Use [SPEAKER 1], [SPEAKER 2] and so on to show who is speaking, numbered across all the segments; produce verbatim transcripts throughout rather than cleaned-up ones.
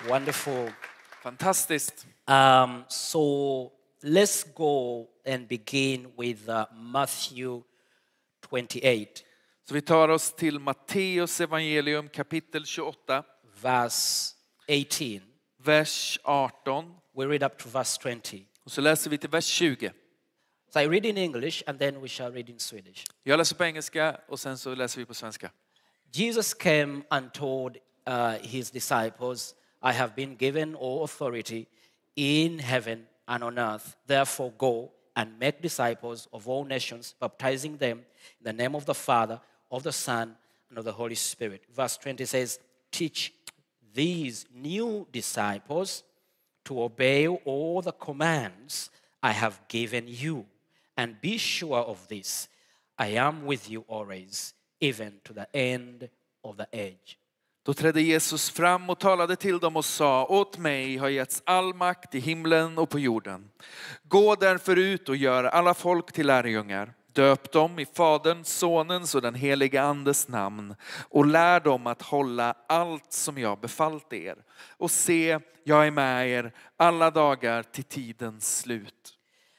[SPEAKER 1] Wonderful.
[SPEAKER 2] Fantastiskt.
[SPEAKER 1] Um, so let's go and begin with uh, Matthew twenty-eight,
[SPEAKER 2] Så vi tar oss till Matteus evangelium kapitel tjugoåtta,
[SPEAKER 1] verse eighteen.
[SPEAKER 2] vers arton.
[SPEAKER 1] We read up to verse twenty.
[SPEAKER 2] Och så läser vi till vers tjugo.
[SPEAKER 1] So I read in English and then we shall read in Swedish.
[SPEAKER 2] Jag läser på engelska och sen så läser vi på svenska.
[SPEAKER 1] Jesus came and told uh, his disciples, I have been given all authority in heaven and on earth. Therefore go and make disciples of all nations, baptizing them in the name of the Father, of the Son, and of the Holy Spirit. Verse twenty says, teach these new disciples to obey all the commands I have given you. And be sure of this, I am with you always, even to the end of the age.
[SPEAKER 2] Då trädde Jesus fram och talade till dem och sa, åt mig har getts all makt i himlen och på jorden. Gå därför ut och gör alla folk till lärjungar. Döp dem i Faderns, Sonens och den helige Andes namn och lär dem att hålla allt som jag befallt er. Och se, jag är med er alla dagar till tidens slut.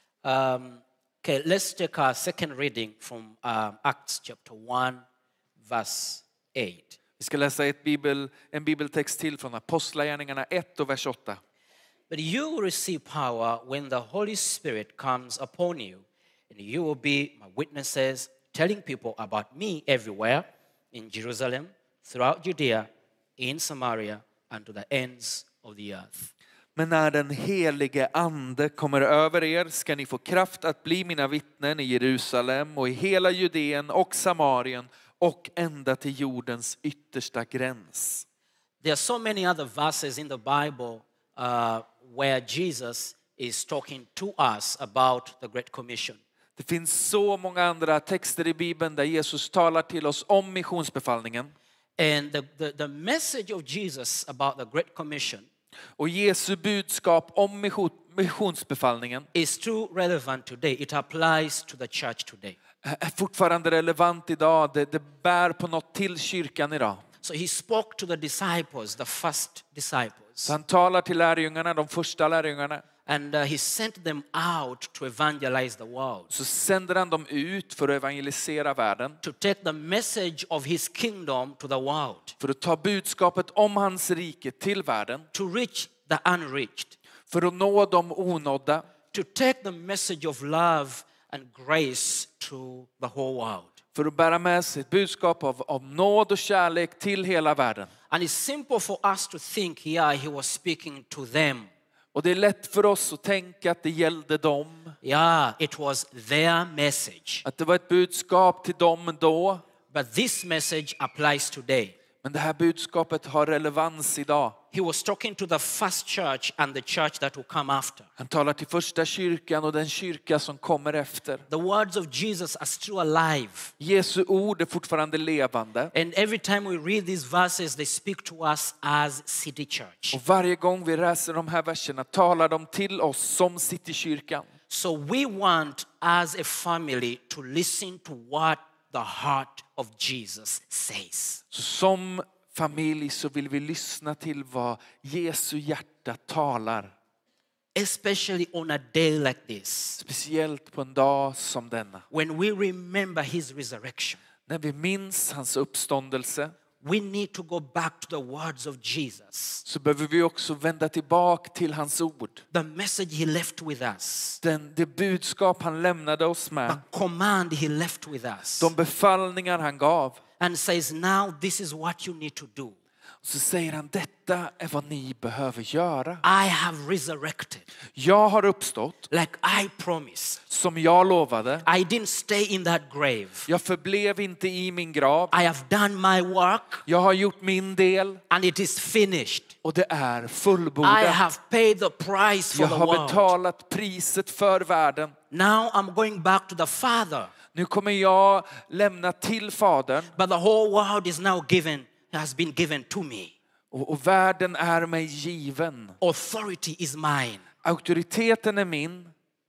[SPEAKER 1] Um, okay, let's take our second reading from um, Acts chapter one, verse eight.
[SPEAKER 2] Vi ska läsa ett bibel, en bibeltext till från Apostlagärningarna ett och vers åtta.
[SPEAKER 1] But you will receive power when the Holy Spirit comes upon you, and you will be my witnesses, telling people about me everywhere, in Jerusalem, throughout Judea, in Samaria, and to the ends of the earth.
[SPEAKER 2] Men när den helige ande kommer över er ska ni få kraft att bli mina vittnen i Jerusalem och i hela Judeen och Samarien och ända till jordens yttersta gräns.
[SPEAKER 1] There are so many other verses in the Bible uh, where Jesus is talking to us about the Great Commission.
[SPEAKER 2] Det finns så många andra texter i Bibeln där Jesus talar till oss om missionsbefallningen.
[SPEAKER 1] And the, the, the message of Jesus about the Great Commission
[SPEAKER 2] Och Jesu budskap om mission, missionsbefallningen
[SPEAKER 1] is too relevant today. It applies to the church today.
[SPEAKER 2] är fortfarande relevant idag. Det, det bär på något till kyrkan idag.
[SPEAKER 1] So he spoke to the disciples, the first disciples.
[SPEAKER 2] Så han talar till lärjungarna, de första lärjungarna.
[SPEAKER 1] And uh, he sent them out to evangelize the world.
[SPEAKER 2] Så sänder han dem ut för att evangelisera världen.
[SPEAKER 1] To take the message of his kingdom to the world.
[SPEAKER 2] För att ta budskapet om hans rike till världen.
[SPEAKER 1] To reach the unreached.
[SPEAKER 2] För att nå de onådda.
[SPEAKER 1] To take the message of love and grace to the whole world.
[SPEAKER 2] För att bära med sig ett budskap av, av nåd och kärlek till hela världen.
[SPEAKER 1] And it's simple for us to think, yeah, he was speaking to them.
[SPEAKER 2] Och det är lätt för oss att tänka att det gällde dem.
[SPEAKER 1] Yeah, it was their message.
[SPEAKER 2] Att det var ett budskap till dem då.
[SPEAKER 1] But this message applies today.
[SPEAKER 2] Men det här budskapet har relevans idag.
[SPEAKER 1] He was talking to the first church and the church that will come after.
[SPEAKER 2] Han talar till första kyrkan och den kyrka som kommer efter.
[SPEAKER 1] The words of Jesus are still alive.
[SPEAKER 2] Jesu ord är fortfarande levande.
[SPEAKER 1] And every time we read these verses, they speak to us as City Church.
[SPEAKER 2] Och varje gång vi läser de här verserna talar de till oss som Citykyrkan.
[SPEAKER 1] So we want as a family to listen to what the heart of Jesus says.
[SPEAKER 2] Så som familj så vill vi lyssna till vad Jesu hjärta talar.
[SPEAKER 1] Especially on a day like this.
[SPEAKER 2] Speciellt på en dag som denna.
[SPEAKER 1] When we remember his resurrection.
[SPEAKER 2] När vi minns hans uppståndelse.
[SPEAKER 1] We need to go back to the words of Jesus.
[SPEAKER 2] Så behöver vi också vända tillbaka till hans ord.
[SPEAKER 1] The message he left with us.
[SPEAKER 2] Den, det budskap han lämnade oss med.
[SPEAKER 1] The command he left with us.
[SPEAKER 2] De befallningar han gav.
[SPEAKER 1] And says, now this is what you need to do.
[SPEAKER 2] Så säger han, detta är vad ni behöver göra.
[SPEAKER 1] I have resurrected.
[SPEAKER 2] Jag har uppstått.
[SPEAKER 1] Like I promised.
[SPEAKER 2] Som jag lovade.
[SPEAKER 1] I didn't stay in that grave.
[SPEAKER 2] Jag förblev inte i min grav.
[SPEAKER 1] I have done my work.
[SPEAKER 2] Jag har gjort min del.
[SPEAKER 1] And it is finished.
[SPEAKER 2] Och det är fullbordat.
[SPEAKER 1] I have paid the price for
[SPEAKER 2] jag
[SPEAKER 1] the
[SPEAKER 2] har
[SPEAKER 1] world.
[SPEAKER 2] betalat priset för världen.
[SPEAKER 1] Now I'm going back to the Father.
[SPEAKER 2] Nu kommer jag lämna till Fadern.
[SPEAKER 1] But the whole world is now given, has been given to me.
[SPEAKER 2] Och, och världen är mig given.
[SPEAKER 1] Authority is mine.
[SPEAKER 2] Auktoriteten är min.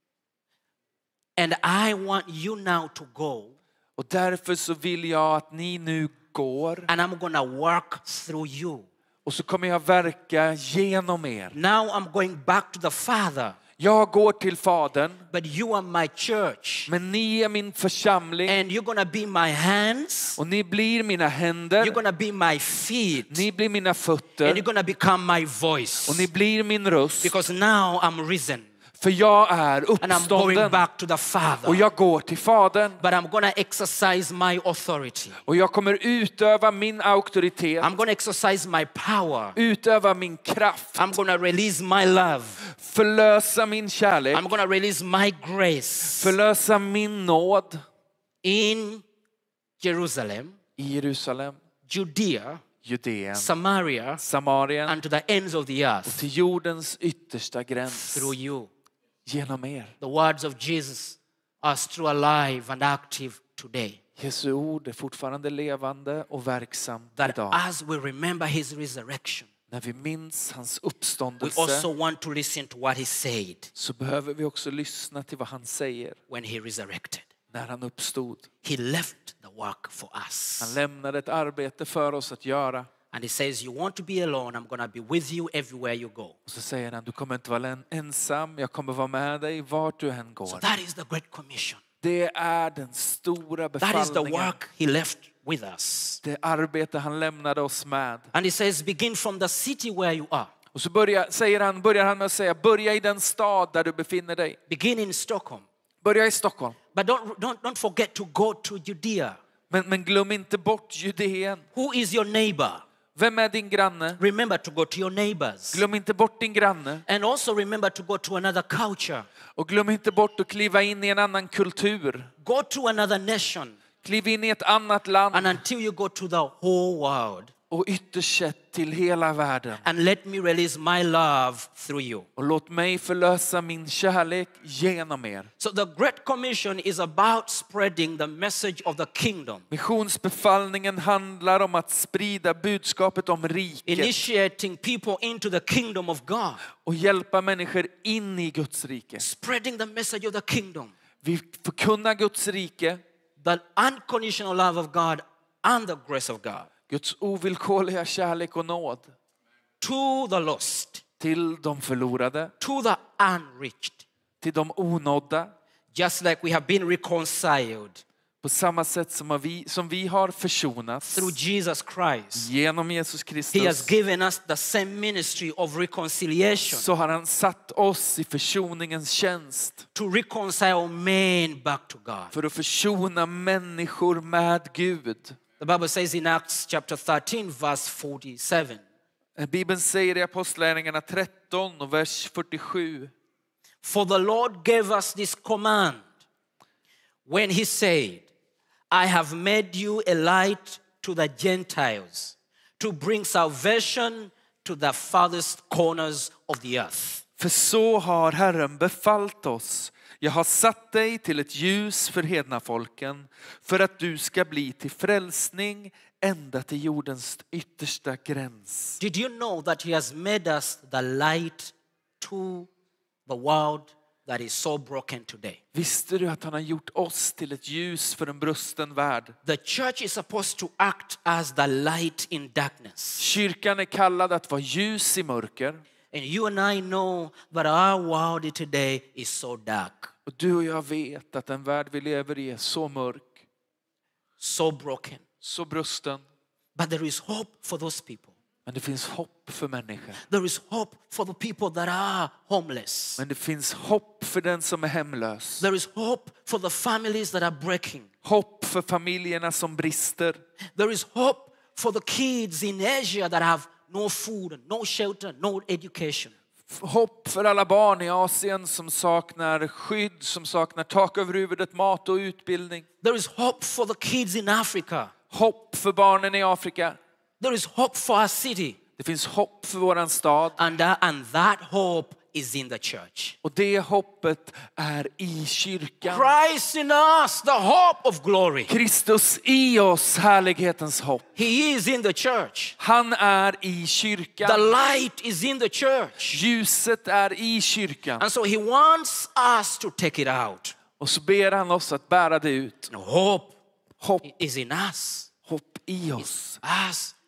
[SPEAKER 1] And I want you now to go.
[SPEAKER 2] Och därför så vill jag att ni nu går.
[SPEAKER 1] And I'm gonna work through you.
[SPEAKER 2] Och så kommer jag verka genom er.
[SPEAKER 1] Now I'm going back to the Father.
[SPEAKER 2] Jag går till Fadern.
[SPEAKER 1] But you are my church.
[SPEAKER 2] Men ni är min församling.
[SPEAKER 1] And you're gonna be my hands.
[SPEAKER 2] Och ni blir mina händer.
[SPEAKER 1] You're gonna be my feet.
[SPEAKER 2] Ni blir mina fötter.
[SPEAKER 1] And you're gonna become my voice.
[SPEAKER 2] Och ni blir min röst.
[SPEAKER 1] Because now I'm risen.
[SPEAKER 2] För jag är
[SPEAKER 1] And I'm going
[SPEAKER 2] uppstånden.
[SPEAKER 1] back to the Father.
[SPEAKER 2] Och jag går till Fadern.
[SPEAKER 1] But I'm gonna exercise my authority.
[SPEAKER 2] Och jag kommer utöva min auktoritet.
[SPEAKER 1] I'm gonna exercise my power.
[SPEAKER 2] Utöva min kraft.
[SPEAKER 1] I'm gonna release my love.
[SPEAKER 2] Förlösa min kärlek.
[SPEAKER 1] I'm gonna release my grace.
[SPEAKER 2] Förlösa min nåd.
[SPEAKER 1] In Jerusalem,
[SPEAKER 2] I Jerusalem,
[SPEAKER 1] Judea,
[SPEAKER 2] Judeen,
[SPEAKER 1] Samaria,
[SPEAKER 2] Samarien
[SPEAKER 1] and to the ends of the
[SPEAKER 2] och
[SPEAKER 1] earth
[SPEAKER 2] till jordens yttersta gräns.
[SPEAKER 1] through you.
[SPEAKER 2] Genom er.
[SPEAKER 1] The words of Jesus are still alive and active today.
[SPEAKER 2] Jesu ord är fortfarande levande och verksam
[SPEAKER 1] That
[SPEAKER 2] idag.
[SPEAKER 1] as we remember his resurrection,
[SPEAKER 2] När vi minns hans
[SPEAKER 1] we
[SPEAKER 2] uppståndelse
[SPEAKER 1] also want to listen to what he said
[SPEAKER 2] så behöver vi också lyssna till vad han säger
[SPEAKER 1] when he resurrected.
[SPEAKER 2] när han uppstod.
[SPEAKER 1] He left the work for us.
[SPEAKER 2] Han lämnade ett arbete för oss att göra.
[SPEAKER 1] And he says, you want to be alone, I'm going to be with you everywhere you go.
[SPEAKER 2] Och så säger han, du kommer inte vara ensam, jag kommer vara med dig vart du än går.
[SPEAKER 1] So that is the Great Commission.
[SPEAKER 2] Det är den stora
[SPEAKER 1] That is the
[SPEAKER 2] befallningen.
[SPEAKER 1] work he left with us.
[SPEAKER 2] Det arbete han lämnade oss med.
[SPEAKER 1] And he says, begin from the city where you are.
[SPEAKER 2] Och så börjar, säger han, börjar han med att säga, börja i den stad där du befinner dig.
[SPEAKER 1] Begin in Stockholm.
[SPEAKER 2] Börja i Stockholm.
[SPEAKER 1] But don't, don't, don't forget to go to Judea.
[SPEAKER 2] Men, men glöm inte bort Judeen.
[SPEAKER 1] Who is your neighbor?
[SPEAKER 2] Vem är din granne?
[SPEAKER 1] Remember to go to your neighbors.
[SPEAKER 2] Glöm inte bort din granne.
[SPEAKER 1] And also remember to go to another culture.
[SPEAKER 2] Och glöm inte bort att kliva in i en annan kultur.
[SPEAKER 1] Go to another nation.
[SPEAKER 2] Kliv in i ett annat land.
[SPEAKER 1] And until you go to the whole world.
[SPEAKER 2] Och ytterst sett till hela världen.
[SPEAKER 1] And let me release my love through you.
[SPEAKER 2] Och låt mig förlösa min kärlek genom er.
[SPEAKER 1] So the Great Commission is about spreading the message of the kingdom.
[SPEAKER 2] Missionsbefallningen handlar om att sprida budskapet om riket.
[SPEAKER 1] Initiating people into the kingdom of God.
[SPEAKER 2] Och hjälpa människor in i Guds rike.
[SPEAKER 1] Spreading the message of the kingdom.
[SPEAKER 2] Vi förkunnar Guds rike.
[SPEAKER 1] The unconditional love of God and the grace of God.
[SPEAKER 2] Guds ovillkorliga kärlek och nåd.
[SPEAKER 1] To the lost.
[SPEAKER 2] Till de förlorade.
[SPEAKER 1] To the unreached.
[SPEAKER 2] Till de onådda.
[SPEAKER 1] Just like we have been reconciled.
[SPEAKER 2] På samma sätt som vi, som vi har försonats.
[SPEAKER 1] Through Jesus Christ.
[SPEAKER 2] Genom Jesus Kristus.
[SPEAKER 1] He has given us the same ministry of reconciliation.
[SPEAKER 2] Så har han satt oss i försoningens tjänst.
[SPEAKER 1] To reconcile men back to God.
[SPEAKER 2] För att försona människor med Gud.
[SPEAKER 1] The Bible says in Acts chapter thirteen verse forty-seven.
[SPEAKER 2] Bibeln säger i Apostlagärningarna tretton och vers fyrtiosju.
[SPEAKER 1] For the Lord gave us this command when he said, I have made you a light to the Gentiles to bring salvation to the farthest corners of the earth.
[SPEAKER 2] För så har Herren befallt oss. Jag har satt dig till ett ljus för hedna folken för att du ska bli till frälsning ända till jordens yttersta gräns.
[SPEAKER 1] Did you know that he has made us the light to the world that is so broken today?
[SPEAKER 2] Visste du att han har gjort oss till ett ljus för en brusten värld?
[SPEAKER 1] The church is supposed to act as the light in darkness.
[SPEAKER 2] Kyrkan är kallad att vara ljus i mörker.
[SPEAKER 1] And you and I know that our world today is so dark.
[SPEAKER 2] Och du och jag vet att den värld vi lever i är så mörk.
[SPEAKER 1] So broken.
[SPEAKER 2] Så brusten.
[SPEAKER 1] But there is hope for those people.
[SPEAKER 2] Men det finns hopp för människor.
[SPEAKER 1] There is hope for the people that are homeless.
[SPEAKER 2] Men det finns hopp för den som är hemlös.
[SPEAKER 1] There is hope for the families that are breaking.
[SPEAKER 2] Hopp för familjerna som brister.
[SPEAKER 1] There is hope for the kids in Asia that have no food, no shelter, no education.
[SPEAKER 2] Hopp för alla barn i Asien som saknar skydd, som saknar tak över huvudet, mat och utbildning.
[SPEAKER 1] There is hope for the kids in Africa.
[SPEAKER 2] Hopp för barnen i Afrika.
[SPEAKER 1] There is hope for our city.
[SPEAKER 2] Det finns hopp för våran stad.
[SPEAKER 1] And, uh, and that hope is in the church.
[SPEAKER 2] Och det hoppet är i kyrkan.
[SPEAKER 1] Christ in us, the hope of glory.
[SPEAKER 2] Kristus i oss, härlighetens hopp.
[SPEAKER 1] He is in the church.
[SPEAKER 2] Han är i kyrkan.
[SPEAKER 1] The light is in the church.
[SPEAKER 2] Ljuset är i kyrkan.
[SPEAKER 1] And so he wants us to take it out.
[SPEAKER 2] Och så ber han oss att bära det ut.
[SPEAKER 1] Hope
[SPEAKER 2] Hopp,
[SPEAKER 1] is in us.
[SPEAKER 2] hopp i oss.
[SPEAKER 1] Us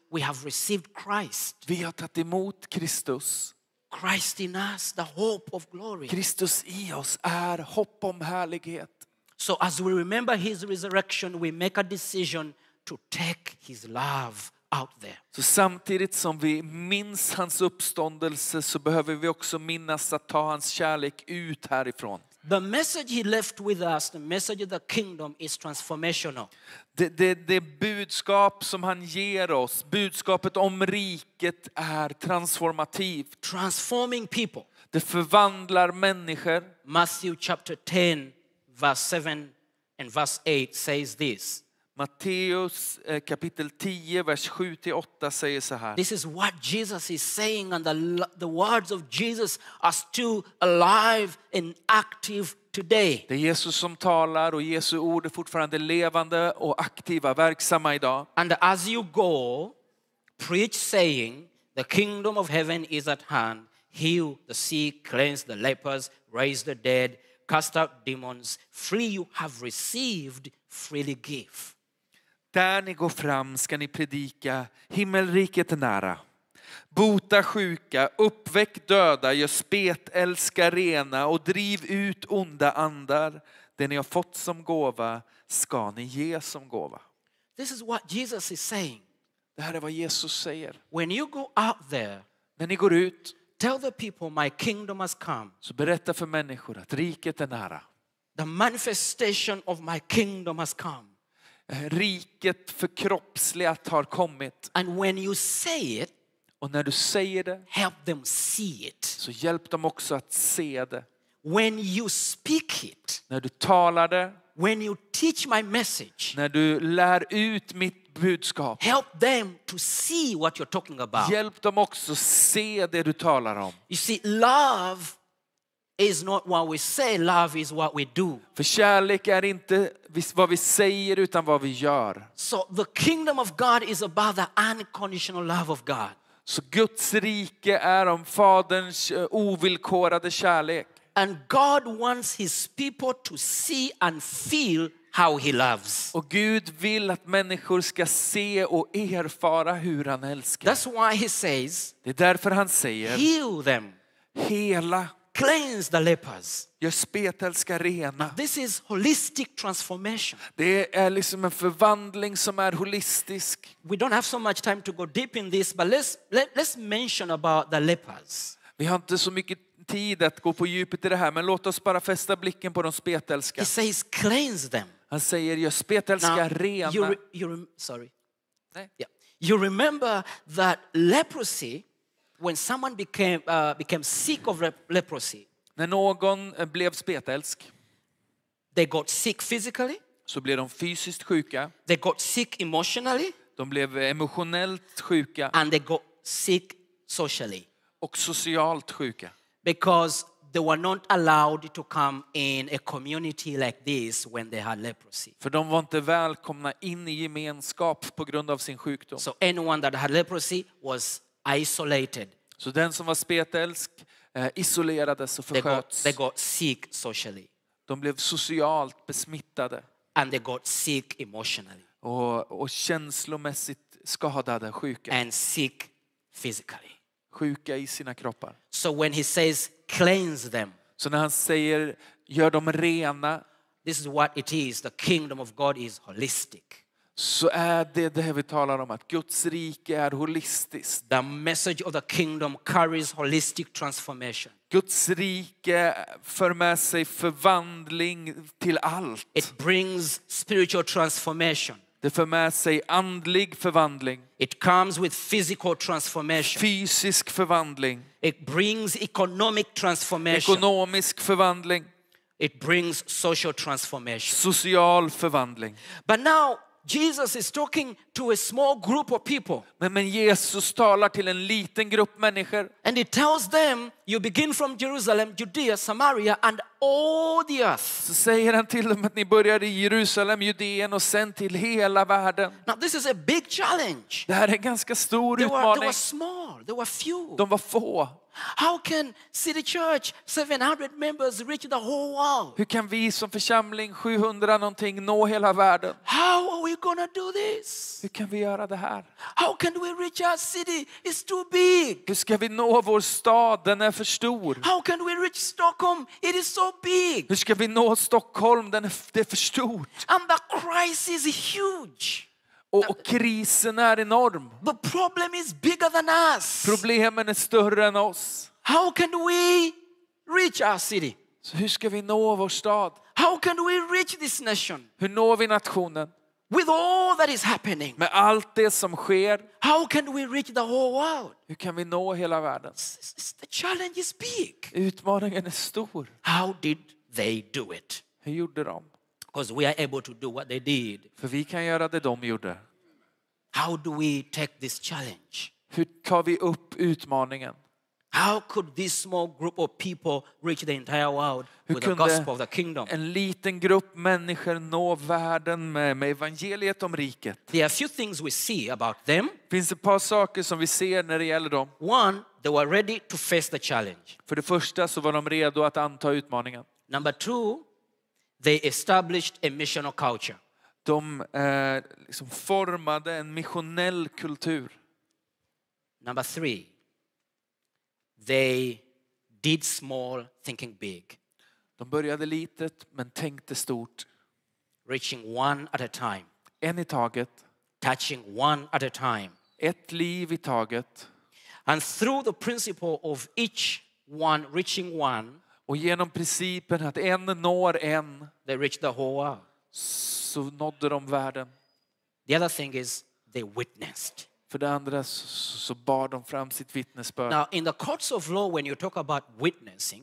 [SPEAKER 1] we have received Christ.
[SPEAKER 2] Vi har tagit emot Kristus.
[SPEAKER 1] Christ in us, the hope of glory.
[SPEAKER 2] Kristus i oss är hopp om härlighet.
[SPEAKER 1] So as we remember his resurrection, we make a decision to take his love out there.
[SPEAKER 2] Så samtidigt som vi minns hans uppståndelse så behöver vi också minnas att ta hans kärlek ut härifrån.
[SPEAKER 1] The message he left with us, the message of the kingdom, is transformational.
[SPEAKER 2] Det, det, det budskap som han ger oss, budskapet om riket är transformativt.
[SPEAKER 1] Transforming people.
[SPEAKER 2] Det förvandlar människor.
[SPEAKER 1] Matthew chapter ten, verse seven and verse eight says this.
[SPEAKER 2] Matteus kapitel tio, vers sju till åtta säger så här.
[SPEAKER 1] This is what Jesus is saying, and the, the words of Jesus are still alive and active today.
[SPEAKER 2] Det är Jesus som talar och Jesu ord är fortfarande levande och aktiva, verksamma idag.
[SPEAKER 1] And as you go, preach saying, the kingdom of heaven is at hand. Heal the sick, cleanse the lepers, raise the dead, cast out demons. Free you have received, freely give.
[SPEAKER 2] Där ni går fram ska ni predika, himmelriket är nära. Bota sjuka, uppväck döda, gör spetälska rena och driv ut onda andar. Det ni har fått som gåva ska ni ge som gåva.
[SPEAKER 1] This is what Jesus is saying.
[SPEAKER 2] Det här är vad Jesus säger.
[SPEAKER 1] When you go out there,
[SPEAKER 2] När ni går ut
[SPEAKER 1] tell the people my kingdom has come.
[SPEAKER 2] så berätta för människor att riket är nära.
[SPEAKER 1] The manifestation of my kingdom has come.
[SPEAKER 2] Riket förkroppsligat har kommit.
[SPEAKER 1] And when you say it,
[SPEAKER 2] Och när du säger det
[SPEAKER 1] help them see it.
[SPEAKER 2] så hjälp dem också att se det.
[SPEAKER 1] When you speak it,
[SPEAKER 2] När du talar det,
[SPEAKER 1] when you teach my message,
[SPEAKER 2] när du lär ut mitt budskap,
[SPEAKER 1] help them to see what you're talking about.
[SPEAKER 2] hjälp dem också se det du talar om.
[SPEAKER 1] You see, love is not what we say, love is what we do.
[SPEAKER 2] För kärlek är inte vad vi säger utan vad vi gör.
[SPEAKER 1] So the kingdom of God is about the unconditional love of God.
[SPEAKER 2] Så Guds rike är om Faderns ovillkorade kärlek.
[SPEAKER 1] And God wants his people to see and feel how he loves.
[SPEAKER 2] Och Gud vill att människor ska se och erfara hur han älskar.
[SPEAKER 1] That's why he says,
[SPEAKER 2] Det är därför han säger,
[SPEAKER 1] heal them,
[SPEAKER 2] hela,
[SPEAKER 1] cleanse the lepers.
[SPEAKER 2] gör spetälska rena.
[SPEAKER 1] This is holistic transformation.
[SPEAKER 2] Det är liksom en förvandling som är holistisk.
[SPEAKER 1] We don't have so much time to go deep in this, but let's let, let's mention about the lepers.
[SPEAKER 2] Vi har inte så mycket tid att gå på djupet i det här, men låt oss bara fästa blicken på de spetälska.
[SPEAKER 1] He says, cleanse them.
[SPEAKER 2] Han säger, gör spetälska rena.
[SPEAKER 1] you, re, you rem, sorry.
[SPEAKER 2] Nej.
[SPEAKER 1] Yeah. You remember that leprosy, when someone became uh, became sick of leprosy,
[SPEAKER 2] När någon blev spetälsk
[SPEAKER 1] they got sick physically,
[SPEAKER 2] så blev de fysiskt sjuka.
[SPEAKER 1] they got sick emotionally,
[SPEAKER 2] De blev emotionellt sjuka
[SPEAKER 1] and they got sick socially.
[SPEAKER 2] och socialt sjuka.
[SPEAKER 1] Because they were not allowed to come in a community like this when they had leprosy.
[SPEAKER 2] För de var inte välkomna in i gemenskap på grund av sin sjukdom.
[SPEAKER 1] So anyone that had leprosy was isolated.
[SPEAKER 2] Så den som var spetälsk eh, isolerades och
[SPEAKER 1] They got,
[SPEAKER 2] försköts.
[SPEAKER 1] they got sick socially.
[SPEAKER 2] De blev socialt besmittade
[SPEAKER 1] And they got sick emotionally.
[SPEAKER 2] och, och känslomässigt skadade, sjuka.
[SPEAKER 1] And sick physically.
[SPEAKER 2] Sjuka i sina kroppar.
[SPEAKER 1] So when he says cleanse them,
[SPEAKER 2] Så när han säger gör dem rena,
[SPEAKER 1] this is what it is. The kingdom of God is holistic.
[SPEAKER 2] så är det det vi talar om, att Guds rike är holistiskt.
[SPEAKER 1] The message of the kingdom carries holistic transformation.
[SPEAKER 2] Guds rike för med sig förvandling till allt.
[SPEAKER 1] It brings spiritual transformation.
[SPEAKER 2] Det för med sig andlig förvandling,
[SPEAKER 1] It comes with physical transformation.
[SPEAKER 2] fysisk förvandling,
[SPEAKER 1] It brings economic transformation.
[SPEAKER 2] ekonomisk förvandling,
[SPEAKER 1] It brings social transformation.
[SPEAKER 2] social förvandling.
[SPEAKER 1] But now Jesus is talking to a small group of people.
[SPEAKER 2] Men, men Jesus talar till en liten grupp människor.
[SPEAKER 1] And he tells them, you begin from Jerusalem, Judea, Samaria and all the earth.
[SPEAKER 2] Så säger han till dem att ni börjar i Jerusalem, Judeen och sen till hela världen.
[SPEAKER 1] Now this is a big challenge.
[SPEAKER 2] Det här är en ganska stor
[SPEAKER 1] They were, they
[SPEAKER 2] utmaning.
[SPEAKER 1] were small, they were few.
[SPEAKER 2] De var få.
[SPEAKER 1] How can City Church, seven hundred members, reach the whole world?
[SPEAKER 2] Hur kan vi som församling, sjuhundra någonting, nå hela världen?
[SPEAKER 1] How are we gonna do this?
[SPEAKER 2] Hur kan vi göra det här?
[SPEAKER 1] How can we reach our city? It's too big.
[SPEAKER 2] Hur ska vi nå vår stad? Den är för stor.
[SPEAKER 1] How can we reach Stockholm? It is so big.
[SPEAKER 2] Hur ska vi nå Stockholm? Den är, det är för stort.
[SPEAKER 1] And the crisis is huge.
[SPEAKER 2] Och, och krisen är enorm.
[SPEAKER 1] The problem is bigger than us.
[SPEAKER 2] Problemen är större än oss.
[SPEAKER 1] How can we reach our city?
[SPEAKER 2] Så hur ska vi nå vår stad?
[SPEAKER 1] How can we reach this nation?
[SPEAKER 2] Hur når vi nationen?
[SPEAKER 1] With all that is happening.
[SPEAKER 2] Med allt det som sker.
[SPEAKER 1] How can we reach the whole world?
[SPEAKER 2] Hur kan vi nå hela världen?
[SPEAKER 1] The challenge is big.
[SPEAKER 2] Utmaningen är stor.
[SPEAKER 1] How did they do it?
[SPEAKER 2] Hur gjorde de?
[SPEAKER 1] Because we are able to do what they did.
[SPEAKER 2] För vi kan göra det de gjorde.
[SPEAKER 1] How do we take this challenge?
[SPEAKER 2] Hur tar vi upp utmaningen?
[SPEAKER 1] How could this small group of people reach the entire world
[SPEAKER 2] Hur
[SPEAKER 1] with the
[SPEAKER 2] kunde
[SPEAKER 1] gospel of the kingdom?
[SPEAKER 2] en liten grupp människor nå världen med, med evangeliet om riket?
[SPEAKER 1] There are a few things we see about them.
[SPEAKER 2] Finns ett par saker som vi ser när det gäller dem.
[SPEAKER 1] One, they were ready to face the challenge.
[SPEAKER 2] För det första så var de redo att anta utmaningen.
[SPEAKER 1] Number two, they established a missional culture.
[SPEAKER 2] De eh, liksom formade en missionell kultur.
[SPEAKER 1] Number three, they did small, thinking big.
[SPEAKER 2] De började litet men tänkte stort.
[SPEAKER 1] Reaching one at a time.
[SPEAKER 2] En i taget.
[SPEAKER 1] Touching one at a time.
[SPEAKER 2] Ett liv i taget.
[SPEAKER 1] And through the principle of each one reaching one,
[SPEAKER 2] Och genom principen att en når en,
[SPEAKER 1] they reached the whole world.
[SPEAKER 2] så nådde de världen.
[SPEAKER 1] The other thing is they witnessed.
[SPEAKER 2] För det andra så, så bar de fram sitt vittnesbörd.
[SPEAKER 1] Now, in the courts of law, when you talk about witnessing,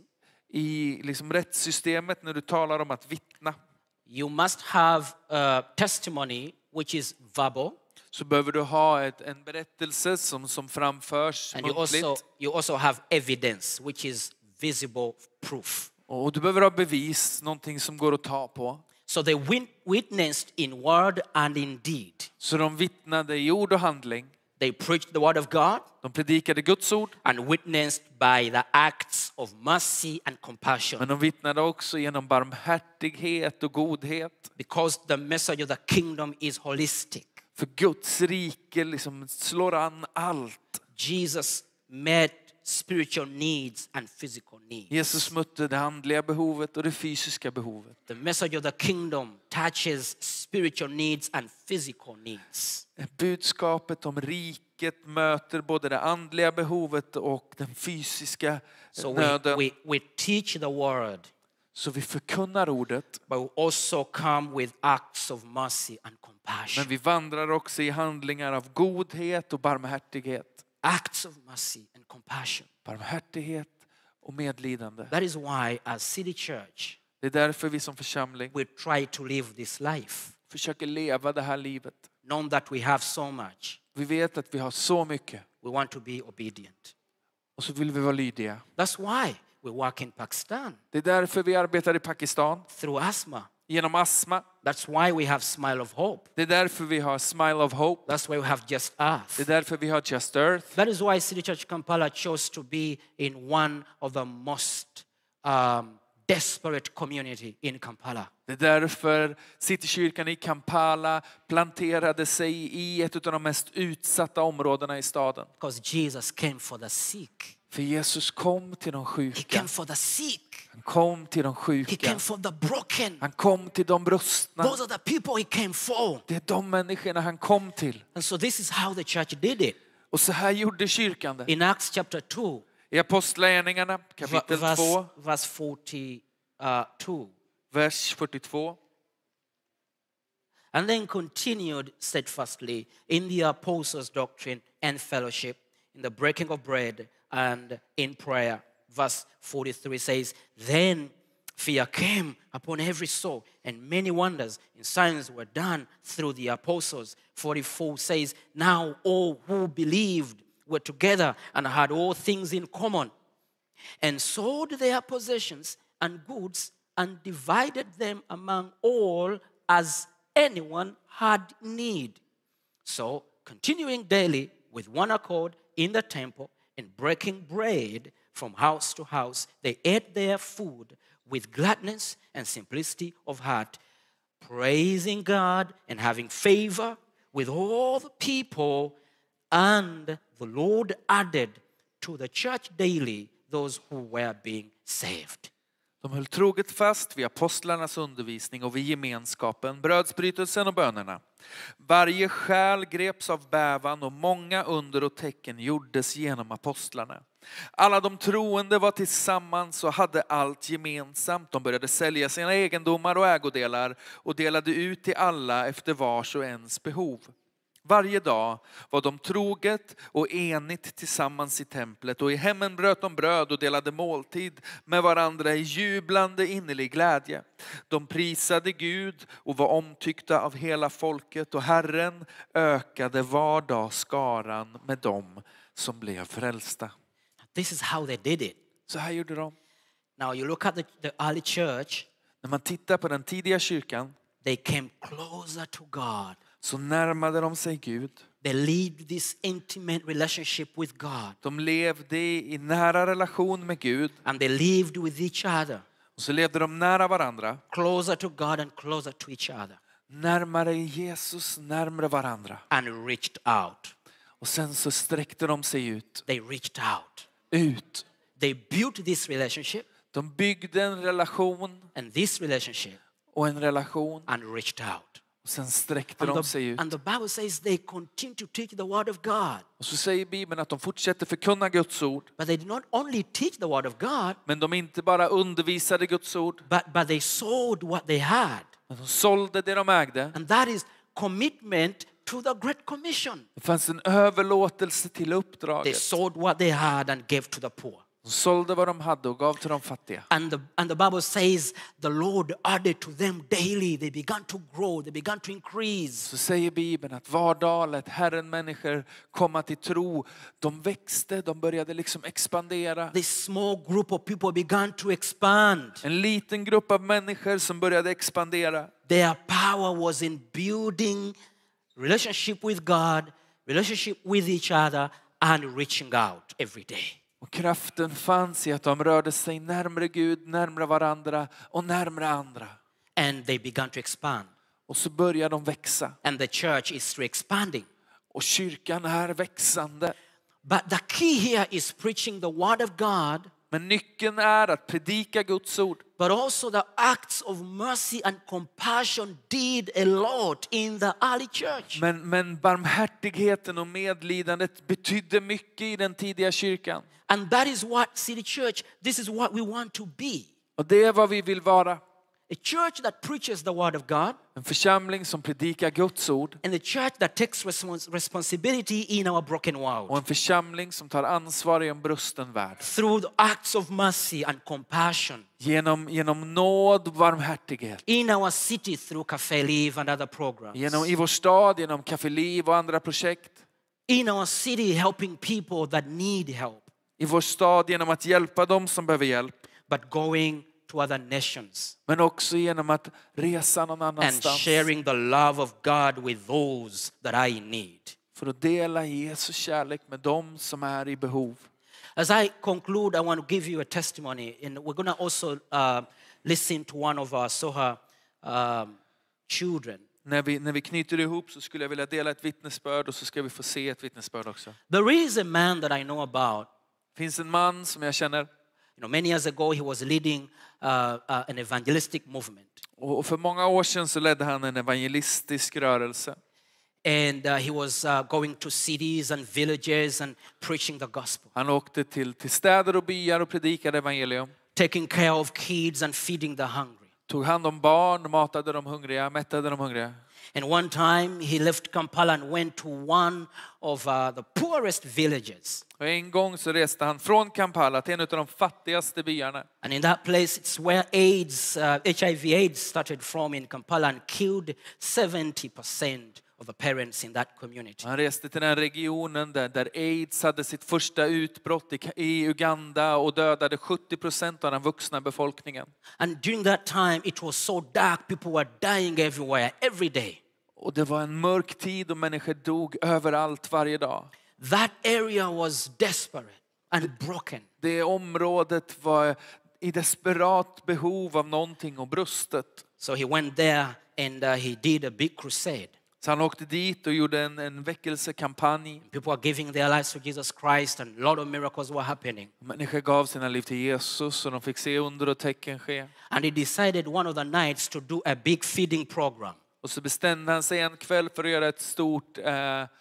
[SPEAKER 2] I liksom rättssystemet när du talar om att vittna,
[SPEAKER 1] you must have a testimony which is verbal,
[SPEAKER 2] så behöver du ha ett, en berättelse som, som framförs
[SPEAKER 1] and you
[SPEAKER 2] muntligt.
[SPEAKER 1] also you also have evidence which is visible proof.
[SPEAKER 2] Och du behöver ha bevis, någonting som går att ta på.
[SPEAKER 1] So they win- witnessed in word and in deed.
[SPEAKER 2] Så de vittnade i ord och handling.
[SPEAKER 1] They preached the word of God
[SPEAKER 2] De predikade Guds ord.
[SPEAKER 1] and witnessed by the acts of mercy and compassion.
[SPEAKER 2] Men de vittnade också genom barmhärtighet och godhet.
[SPEAKER 1] Because the message of the kingdom is holistic.
[SPEAKER 2] För Guds rike liksom slår an allt.
[SPEAKER 1] Jesus met spiritual needs and physical needs.
[SPEAKER 2] Jesus mötte det andliga behovet och det fysiska behovet.
[SPEAKER 1] The message of the kingdom touches spiritual needs and physical needs.
[SPEAKER 2] Budskapet om riket möter både det andliga behovet och den fysiska
[SPEAKER 1] So we,
[SPEAKER 2] nöden.
[SPEAKER 1] we, we teach the word,
[SPEAKER 2] Så vi förkunnar ordet,
[SPEAKER 1] but we also come with acts of mercy and compassion.
[SPEAKER 2] men vi vandrar också i handlingar av godhet och barmhärtighet.
[SPEAKER 1] Acts of mercy and compassion.
[SPEAKER 2] Barmhärtighet och medlidande.
[SPEAKER 1] That is why as City Church,
[SPEAKER 2] Det är därför vi som församling
[SPEAKER 1] we try to live this life,
[SPEAKER 2] försöker leva det här livet.
[SPEAKER 1] knowing that we have so much.
[SPEAKER 2] Vi vet att vi har så mycket
[SPEAKER 1] We want to be obedient.
[SPEAKER 2] och så vill vi vara lydiga.
[SPEAKER 1] That's why we work in Pakistan
[SPEAKER 2] Det är därför vi arbetar i Pakistan
[SPEAKER 1] through asthma.
[SPEAKER 2] genom astma.
[SPEAKER 1] That's why we have Smile of Hope.
[SPEAKER 2] Det är därför vi har Smile of Hope.
[SPEAKER 1] That's why we have Just Earth.
[SPEAKER 2] Det är därför vi har Just Earth.
[SPEAKER 1] That is why City Church Kampala chose to be in one of the most um, desperate community in Kampala.
[SPEAKER 2] Det är därför Citykyrkan i Kampala planterade sig i ett av de mest utsatta områdena i staden.
[SPEAKER 1] Because Jesus came for the sick.
[SPEAKER 2] För Jesus kom till de
[SPEAKER 1] He
[SPEAKER 2] sjuka.
[SPEAKER 1] came for the sick.
[SPEAKER 2] Han kom till de
[SPEAKER 1] He
[SPEAKER 2] sjuka.
[SPEAKER 1] came for the broken.
[SPEAKER 2] Han kom till de brustna.
[SPEAKER 1] Those are the people he came for.
[SPEAKER 2] Det är de människorna han kom till.
[SPEAKER 1] And so this is how the church did it.
[SPEAKER 2] Och så här gjorde kyrkan det.
[SPEAKER 1] In Acts chapter two,
[SPEAKER 2] I Apostlagärningarna kapitel
[SPEAKER 1] verse,
[SPEAKER 2] två,
[SPEAKER 1] verse forty-two.
[SPEAKER 2] vers fyrtiotvå.
[SPEAKER 1] And then continued steadfastly in the apostles' doctrine and fellowship, in the breaking of bread and in prayer. Verse forty-three says, then fear came upon every soul, and many wonders and signs were done through the apostles. forty-four says, now all who believed were together and had all things in common, and sold their possessions and goods and divided them among all as anyone had need. So, continuing daily with one accord in the temple and breaking bread from house to house. They ate their food with gladness and simplicity of heart, praising God and having favor with all the people. And the Lord added to the church daily those who were being saved.
[SPEAKER 2] De höll troget fast vid apostlarnas undervisning och vid gemenskapen, brödsbrytelsen och bönerna. Varje själ greps av bävan och många under och tecken gjordes genom apostlarna. Alla de troende var tillsammans och hade allt gemensamt. De började sälja sina egendomar och ägodelar och delade ut till alla efter vars och ens behov. Varje dag var de troget och enigt tillsammans i templet, och i hemmen bröt de bröd och delade måltid med varandra i jublande innerlig glädje. De prisade Gud och var omtyckta av hela folket, och Herren ökade var dag skaran med dem som blev frälsta.
[SPEAKER 1] This is how they did it.
[SPEAKER 2] Så här gjorde de.
[SPEAKER 1] Now you look at the, the early church,
[SPEAKER 2] När man tittar på den tidiga kyrkan
[SPEAKER 1] they came closer to God.
[SPEAKER 2] så närmade de sig Gud.
[SPEAKER 1] They lived this intimate relationship with God.
[SPEAKER 2] De levde i nära relation med Gud.
[SPEAKER 1] And they lived with each other.
[SPEAKER 2] Och så levde de nära varandra.
[SPEAKER 1] Closer to God and closer to each other.
[SPEAKER 2] Närmare Jesus, närmare varandra.
[SPEAKER 1] And reached out.
[SPEAKER 2] Och sen så sträckte de sig ut.
[SPEAKER 1] They reached out.
[SPEAKER 2] Ut.
[SPEAKER 1] They built this relationship
[SPEAKER 2] De byggde en relation
[SPEAKER 1] and this relationship
[SPEAKER 2] och en relation.
[SPEAKER 1] and reached out.
[SPEAKER 2] Och sen sträckte de
[SPEAKER 1] And
[SPEAKER 2] sig
[SPEAKER 1] the,
[SPEAKER 2] ut.
[SPEAKER 1] and the Bible says they continue to teach the word of God.
[SPEAKER 2] Och så säger Bibeln att de fortsätter förkunna Guds ord.
[SPEAKER 1] But they did not only teach the word of God,
[SPEAKER 2] Men de inte bara undervisade Guds ord.
[SPEAKER 1] but, but they sold what they had.
[SPEAKER 2] Men de sålde det de ägde.
[SPEAKER 1] And that is commitment to the Great Commission.
[SPEAKER 2] Det fanns en överlåtelse till
[SPEAKER 1] They
[SPEAKER 2] uppdraget.
[SPEAKER 1] sold what they had and gave to the poor.
[SPEAKER 2] De sålde vad de hade och gav till de fattiga.
[SPEAKER 1] And the, and the Bible says the Lord added to them daily. They began to grow. They began to increase.
[SPEAKER 2] Så säger Bibeln att var dag lät Herren människor komma till tro. De växte, de började liksom expandera.
[SPEAKER 1] This small group of people began to expand.
[SPEAKER 2] En liten grupp av människor som började expandera.
[SPEAKER 1] Their power was in building relationship with God, relationship with each other, and reaching out every day.
[SPEAKER 2] Och kraften fanns i att de rörde sig närmare Gud, närmare varandra och närmare andra.
[SPEAKER 1] And they began to expand.
[SPEAKER 2] Och så började de växa.
[SPEAKER 1] And the church is expanding.
[SPEAKER 2] Och kyrkan är växande.
[SPEAKER 1] But the key here is preaching the word of God,
[SPEAKER 2] Men nyckeln är att predika Guds ord.
[SPEAKER 1] but also the acts of mercy and compassion did a lot in the early church.
[SPEAKER 2] Men, men barmhärtigheten och medlidandet betydde mycket i den tidiga kyrkan.
[SPEAKER 1] And that is what City Church, this is what we want to be.
[SPEAKER 2] Och det är vad vi vill vara.
[SPEAKER 1] A church that preaches the word of God,
[SPEAKER 2] En församling som predikar Guds ord.
[SPEAKER 1] and a church that takes respons- responsibility in our broken
[SPEAKER 2] Och
[SPEAKER 1] world
[SPEAKER 2] en församling som tar ansvar i en brusten värld.
[SPEAKER 1] through the acts of mercy and compassion.
[SPEAKER 2] Genom, genom nåd och barmhärtighet.
[SPEAKER 1] In our city through Cafe Live and other programs.
[SPEAKER 2] Genom i vår stad, genom Café Liv och andra projekt.
[SPEAKER 1] In our city helping people that need help.
[SPEAKER 2] I vår stad genom att hjälpa dem som behöver hjälp.
[SPEAKER 1] But going to other nations
[SPEAKER 2] Men också genom att resa någon
[SPEAKER 1] and
[SPEAKER 2] annanstans.
[SPEAKER 1] sharing the love of God with those that are in need.
[SPEAKER 2] För att dela Jesu kärlek med dem som är i behov.
[SPEAKER 1] As I conclude, I want to give you a testimony. And we're going to also uh, listen to one of our Soha um, children.
[SPEAKER 2] När vi, när vi knyter ihop så skulle jag vilja dela ett vittnesbörd och så ska vi få se ett vittnesbörd också.
[SPEAKER 1] There is a man that I know about.
[SPEAKER 2] Det finns en man som jag känner.
[SPEAKER 1] You know, many years ago, he was leading uh, uh, an evangelistic movement.
[SPEAKER 2] Och för många år sedan så ledde han en evangelistisk rörelse.
[SPEAKER 1] And uh, he was uh, going to cities and villages and preaching the gospel.
[SPEAKER 2] Han åkte till, till städer och byar och predikade evangelium.
[SPEAKER 1] Taking care of kids and feeding the hungry.
[SPEAKER 2] Tog hand om barn, matade de hungriga, mättade de hungriga.
[SPEAKER 1] And one time he left Kampala and went to one of uh, the poorest villages.
[SPEAKER 2] Och en gång så reste han från Kampala till en av de fattigaste byarna.
[SPEAKER 1] And in that place, it's where AIDS, uh, H I V AIDS started from in Kampala and killed seventy percent of the parents in that community.
[SPEAKER 2] Han reste till den regionen där, där AIDS hade sitt första utbrott i, i Uganda och dödade sjuttio procent av den vuxna befolkningen.
[SPEAKER 1] And during that time, it was so dark, people were dying everywhere, every day.
[SPEAKER 2] Och det var en mörk tid och människor dog överallt varje dag.
[SPEAKER 1] That area was desperate. and broken.
[SPEAKER 2] Det området var i desperat behov av någonting och brustet.
[SPEAKER 1] So he went there and uh, he did a big crusade.
[SPEAKER 2] Så han åkte dit och gjorde en, en väckelsekampanj.
[SPEAKER 1] People were giving their lives to Jesus Christ and a lot of miracles were happening.
[SPEAKER 2] Människor gav sina liv till Jesus och de fick se under och tecken ske.
[SPEAKER 1] And he decided one of the nights to do a big feeding program.
[SPEAKER 2] Och så bestämde han sig en kväll för att göra ett stort eh, eh,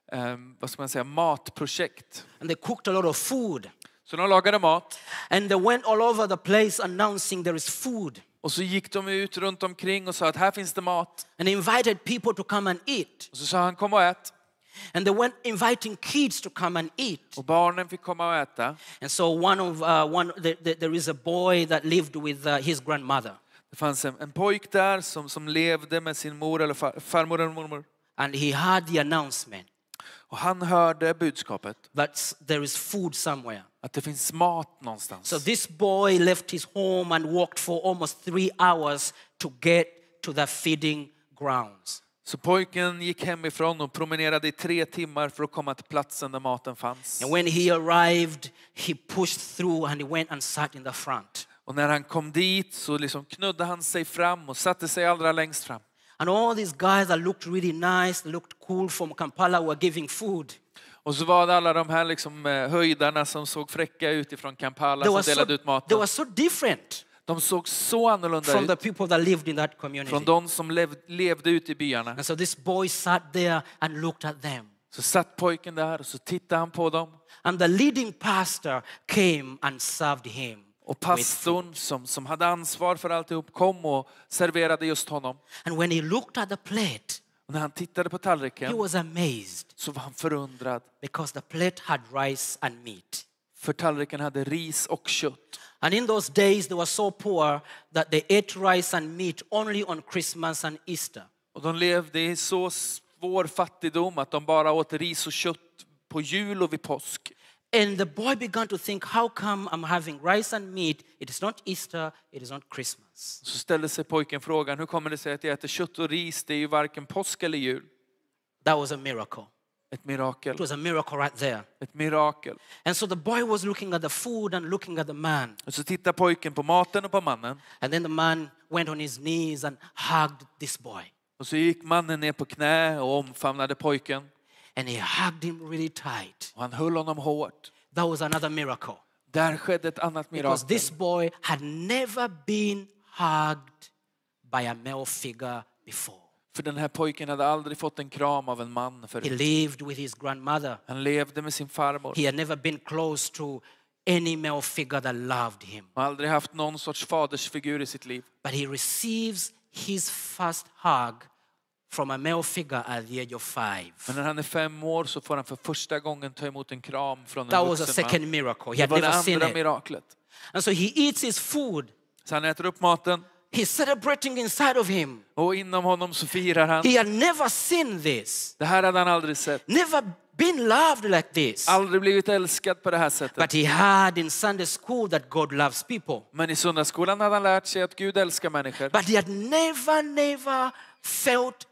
[SPEAKER 2] vad ska man säga, matprojekt.
[SPEAKER 1] And they cooked a lot of food.
[SPEAKER 2] Så de lagade mat.
[SPEAKER 1] And they went all over the place announcing there is food.
[SPEAKER 2] Och så gick de ut runt omkring och sa att här finns det mat.
[SPEAKER 1] And invited people to come and eat.
[SPEAKER 2] Och så sa han, kom och ät.
[SPEAKER 1] And they went inviting kids to come and eat.
[SPEAKER 2] Och barnen fick komma och äta.
[SPEAKER 1] And so one of uh, one the, the, there is a boy that lived with uh, his grandmother.
[SPEAKER 2] Det fanns en, en pojk där som, som levde med sin mor eller far, farmor eller mormor.
[SPEAKER 1] And he heard the announcement
[SPEAKER 2] Och han hörde budskapet
[SPEAKER 1] that there is food somewhere.
[SPEAKER 2] att det finns mat någonstans.
[SPEAKER 1] So this boy left his home and walked for almost three hours to get to the feeding grounds.
[SPEAKER 2] Så pojken gick hemifrån och promenerade i tre timmar för att komma till platsen där maten fanns.
[SPEAKER 1] And when he arrived, he pushed through and he went and sat in the front.
[SPEAKER 2] Och när han kom dit så liksom knudde han sig fram och satte sig allra längst fram.
[SPEAKER 1] And all these guys that looked really nice, they looked cool from Kampala were giving food.
[SPEAKER 2] Och så var det alla de här liksom höjdarna som såg fräcka ut ifrån Kampala som delade
[SPEAKER 1] so,
[SPEAKER 2] ut maten.
[SPEAKER 1] they were so different
[SPEAKER 2] De såg så annorlunda
[SPEAKER 1] from the
[SPEAKER 2] ut
[SPEAKER 1] people that lived in that community.
[SPEAKER 2] från de som lev, levde ute i byarna.
[SPEAKER 1] And so this boy sat there and looked at them.
[SPEAKER 2] Så satt pojken där och så tittade han på dem.
[SPEAKER 1] And the leading pastor came and served him.
[SPEAKER 2] Och pastorn som, som hade ansvar för alltihop kom och serverade just honom.
[SPEAKER 1] And when he looked at the plate,
[SPEAKER 2] Och när han tittade på
[SPEAKER 1] he
[SPEAKER 2] tallriken
[SPEAKER 1] was amazed
[SPEAKER 2] så var han förundrad.
[SPEAKER 1] because the plate had rice and meat.
[SPEAKER 2] För tallriken hade ris och kött.
[SPEAKER 1] And in those days they were so poor that they ate rice and meat only on Christmas and Easter.
[SPEAKER 2] Och de levde i så svår fattigdom att de bara åt ris och kött på jul och vid påsk.
[SPEAKER 1] And the boy began to think, how come I'm having rice and meat? It is not Easter, it is not Christmas.
[SPEAKER 2] Så ställde sig pojken frågan, hur kommer det sig att jag äter kött och ris? Det är ju varken påsk eller jul.
[SPEAKER 1] That was a miracle.
[SPEAKER 2] Ett mirakel.
[SPEAKER 1] It was a miracle right there.
[SPEAKER 2] Ett mirakel.
[SPEAKER 1] And so the boy was looking at the food and looking at the man.
[SPEAKER 2] Och så tittar pojken på maten och på mannen.
[SPEAKER 1] And then the man went on his knees and hugged this boy.
[SPEAKER 2] Och så gick mannen ner på knä och omfamnade pojken.
[SPEAKER 1] And he hugged him really tight.
[SPEAKER 2] Och han höll honom hårt.
[SPEAKER 1] That was another miracle.
[SPEAKER 2] Där skedde ett annat
[SPEAKER 1] Because
[SPEAKER 2] mirakel.
[SPEAKER 1] this boy had never been hugged by a male figure before.
[SPEAKER 2] För den här pojken hade aldrig fått en kram av en man
[SPEAKER 1] He
[SPEAKER 2] förut.
[SPEAKER 1] lived with his grandmother.
[SPEAKER 2] Han levde med sin farmor.
[SPEAKER 1] He had never been close to any male figure that loved him.
[SPEAKER 2] Han har aldrig haft någon sorts fadersfigur i sitt liv.
[SPEAKER 1] But he receives his first hug from a male figure at the age of five.
[SPEAKER 2] Men när han är fem år så får han för första gången ta emot en kram från
[SPEAKER 1] That
[SPEAKER 2] en
[SPEAKER 1] was a
[SPEAKER 2] vuxen man.
[SPEAKER 1] second miracle. He
[SPEAKER 2] Det
[SPEAKER 1] had
[SPEAKER 2] var det
[SPEAKER 1] never seen
[SPEAKER 2] andra
[SPEAKER 1] it.
[SPEAKER 2] miraklet.
[SPEAKER 1] And so he eats his food.
[SPEAKER 2] Så han äter upp maten
[SPEAKER 1] He's celebrating inside of him.
[SPEAKER 2] och inom honom så firar han.
[SPEAKER 1] He had never seen this.
[SPEAKER 2] Det här hade han aldrig sett.
[SPEAKER 1] Never been loved like this.
[SPEAKER 2] Aldrig blivit älskad på det här sättet.
[SPEAKER 1] But he heard in Sunday school that God loves people.
[SPEAKER 2] Men i söndagsskolan hade han lärt sig att Gud älskar människor.
[SPEAKER 1] But he had never, never felt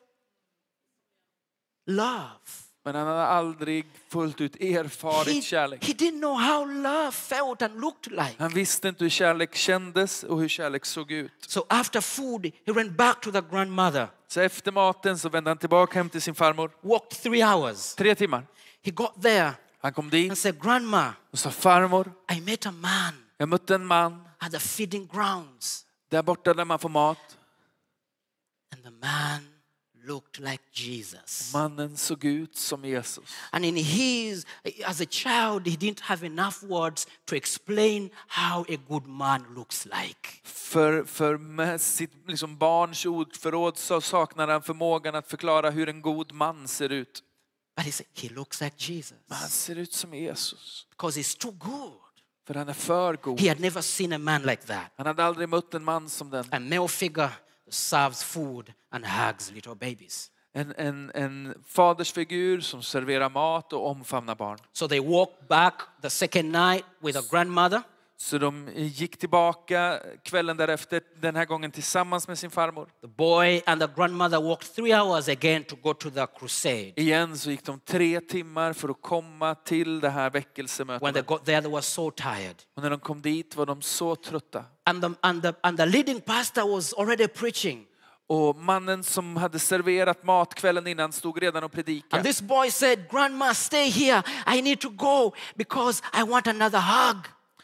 [SPEAKER 1] love.
[SPEAKER 2] Men han hade aldrig fullt ut
[SPEAKER 1] He,
[SPEAKER 2] erfarit kärlek.
[SPEAKER 1] he didn't know how love felt and looked like.
[SPEAKER 2] Han visste inte hur kärlek kändes och hur kärlek såg ut.
[SPEAKER 1] So after food, he went back to the grandmother.
[SPEAKER 2] Så efter maten så vände han tillbaka hem till sin farmor.
[SPEAKER 1] Walked three hours.
[SPEAKER 2] Tre timmar.
[SPEAKER 1] He got there
[SPEAKER 2] Han kom
[SPEAKER 1] and
[SPEAKER 2] dit
[SPEAKER 1] said, Grandma,
[SPEAKER 2] och sa, farmor,
[SPEAKER 1] I met a man
[SPEAKER 2] jag mötte en man
[SPEAKER 1] at the feeding grounds.
[SPEAKER 2] där borta där man får mat.
[SPEAKER 1] And the man looked like Jesus.
[SPEAKER 2] Mannen såg ut som Jesus.
[SPEAKER 1] And in his, as a child, he didn't have enough words to explain how a good man looks like.
[SPEAKER 2] För, för med sitt liksom barns ordförråd så saknar han förmågan att förklara hur en god man ser ut.
[SPEAKER 1] But he said, he looks like Jesus.
[SPEAKER 2] Men han ser ut som Jesus.
[SPEAKER 1] Because he's too good.
[SPEAKER 2] För han är för god.
[SPEAKER 1] He had never seen a man like that.
[SPEAKER 2] Han hade aldrig mött en man som den.
[SPEAKER 1] A male figure serves food and hugs little babies.
[SPEAKER 2] En, en, en fadersfigur som serverar mat och omfamnar barn.
[SPEAKER 1] So they walked back the second night with a grandmother.
[SPEAKER 2] Så de gick tillbaka kvällen därefter, den här gången tillsammans med sin farmor.
[SPEAKER 1] The boy and the grandmother walked three hours again to go to the crusade.
[SPEAKER 2] Igen så gick de tre timmar för att komma till det här
[SPEAKER 1] When they
[SPEAKER 2] väckelsemötet.
[SPEAKER 1] got there, they were so tired.
[SPEAKER 2] Och när de kom dit var de så trötta.
[SPEAKER 1] And the, and the, and the leading pastor was already preaching.
[SPEAKER 2] Och mannen som hade serverat mat kvällen innan stod redan och
[SPEAKER 1] And
[SPEAKER 2] predikade.
[SPEAKER 1] this boy said, Grandma, stay here. I need to go because I want another hug.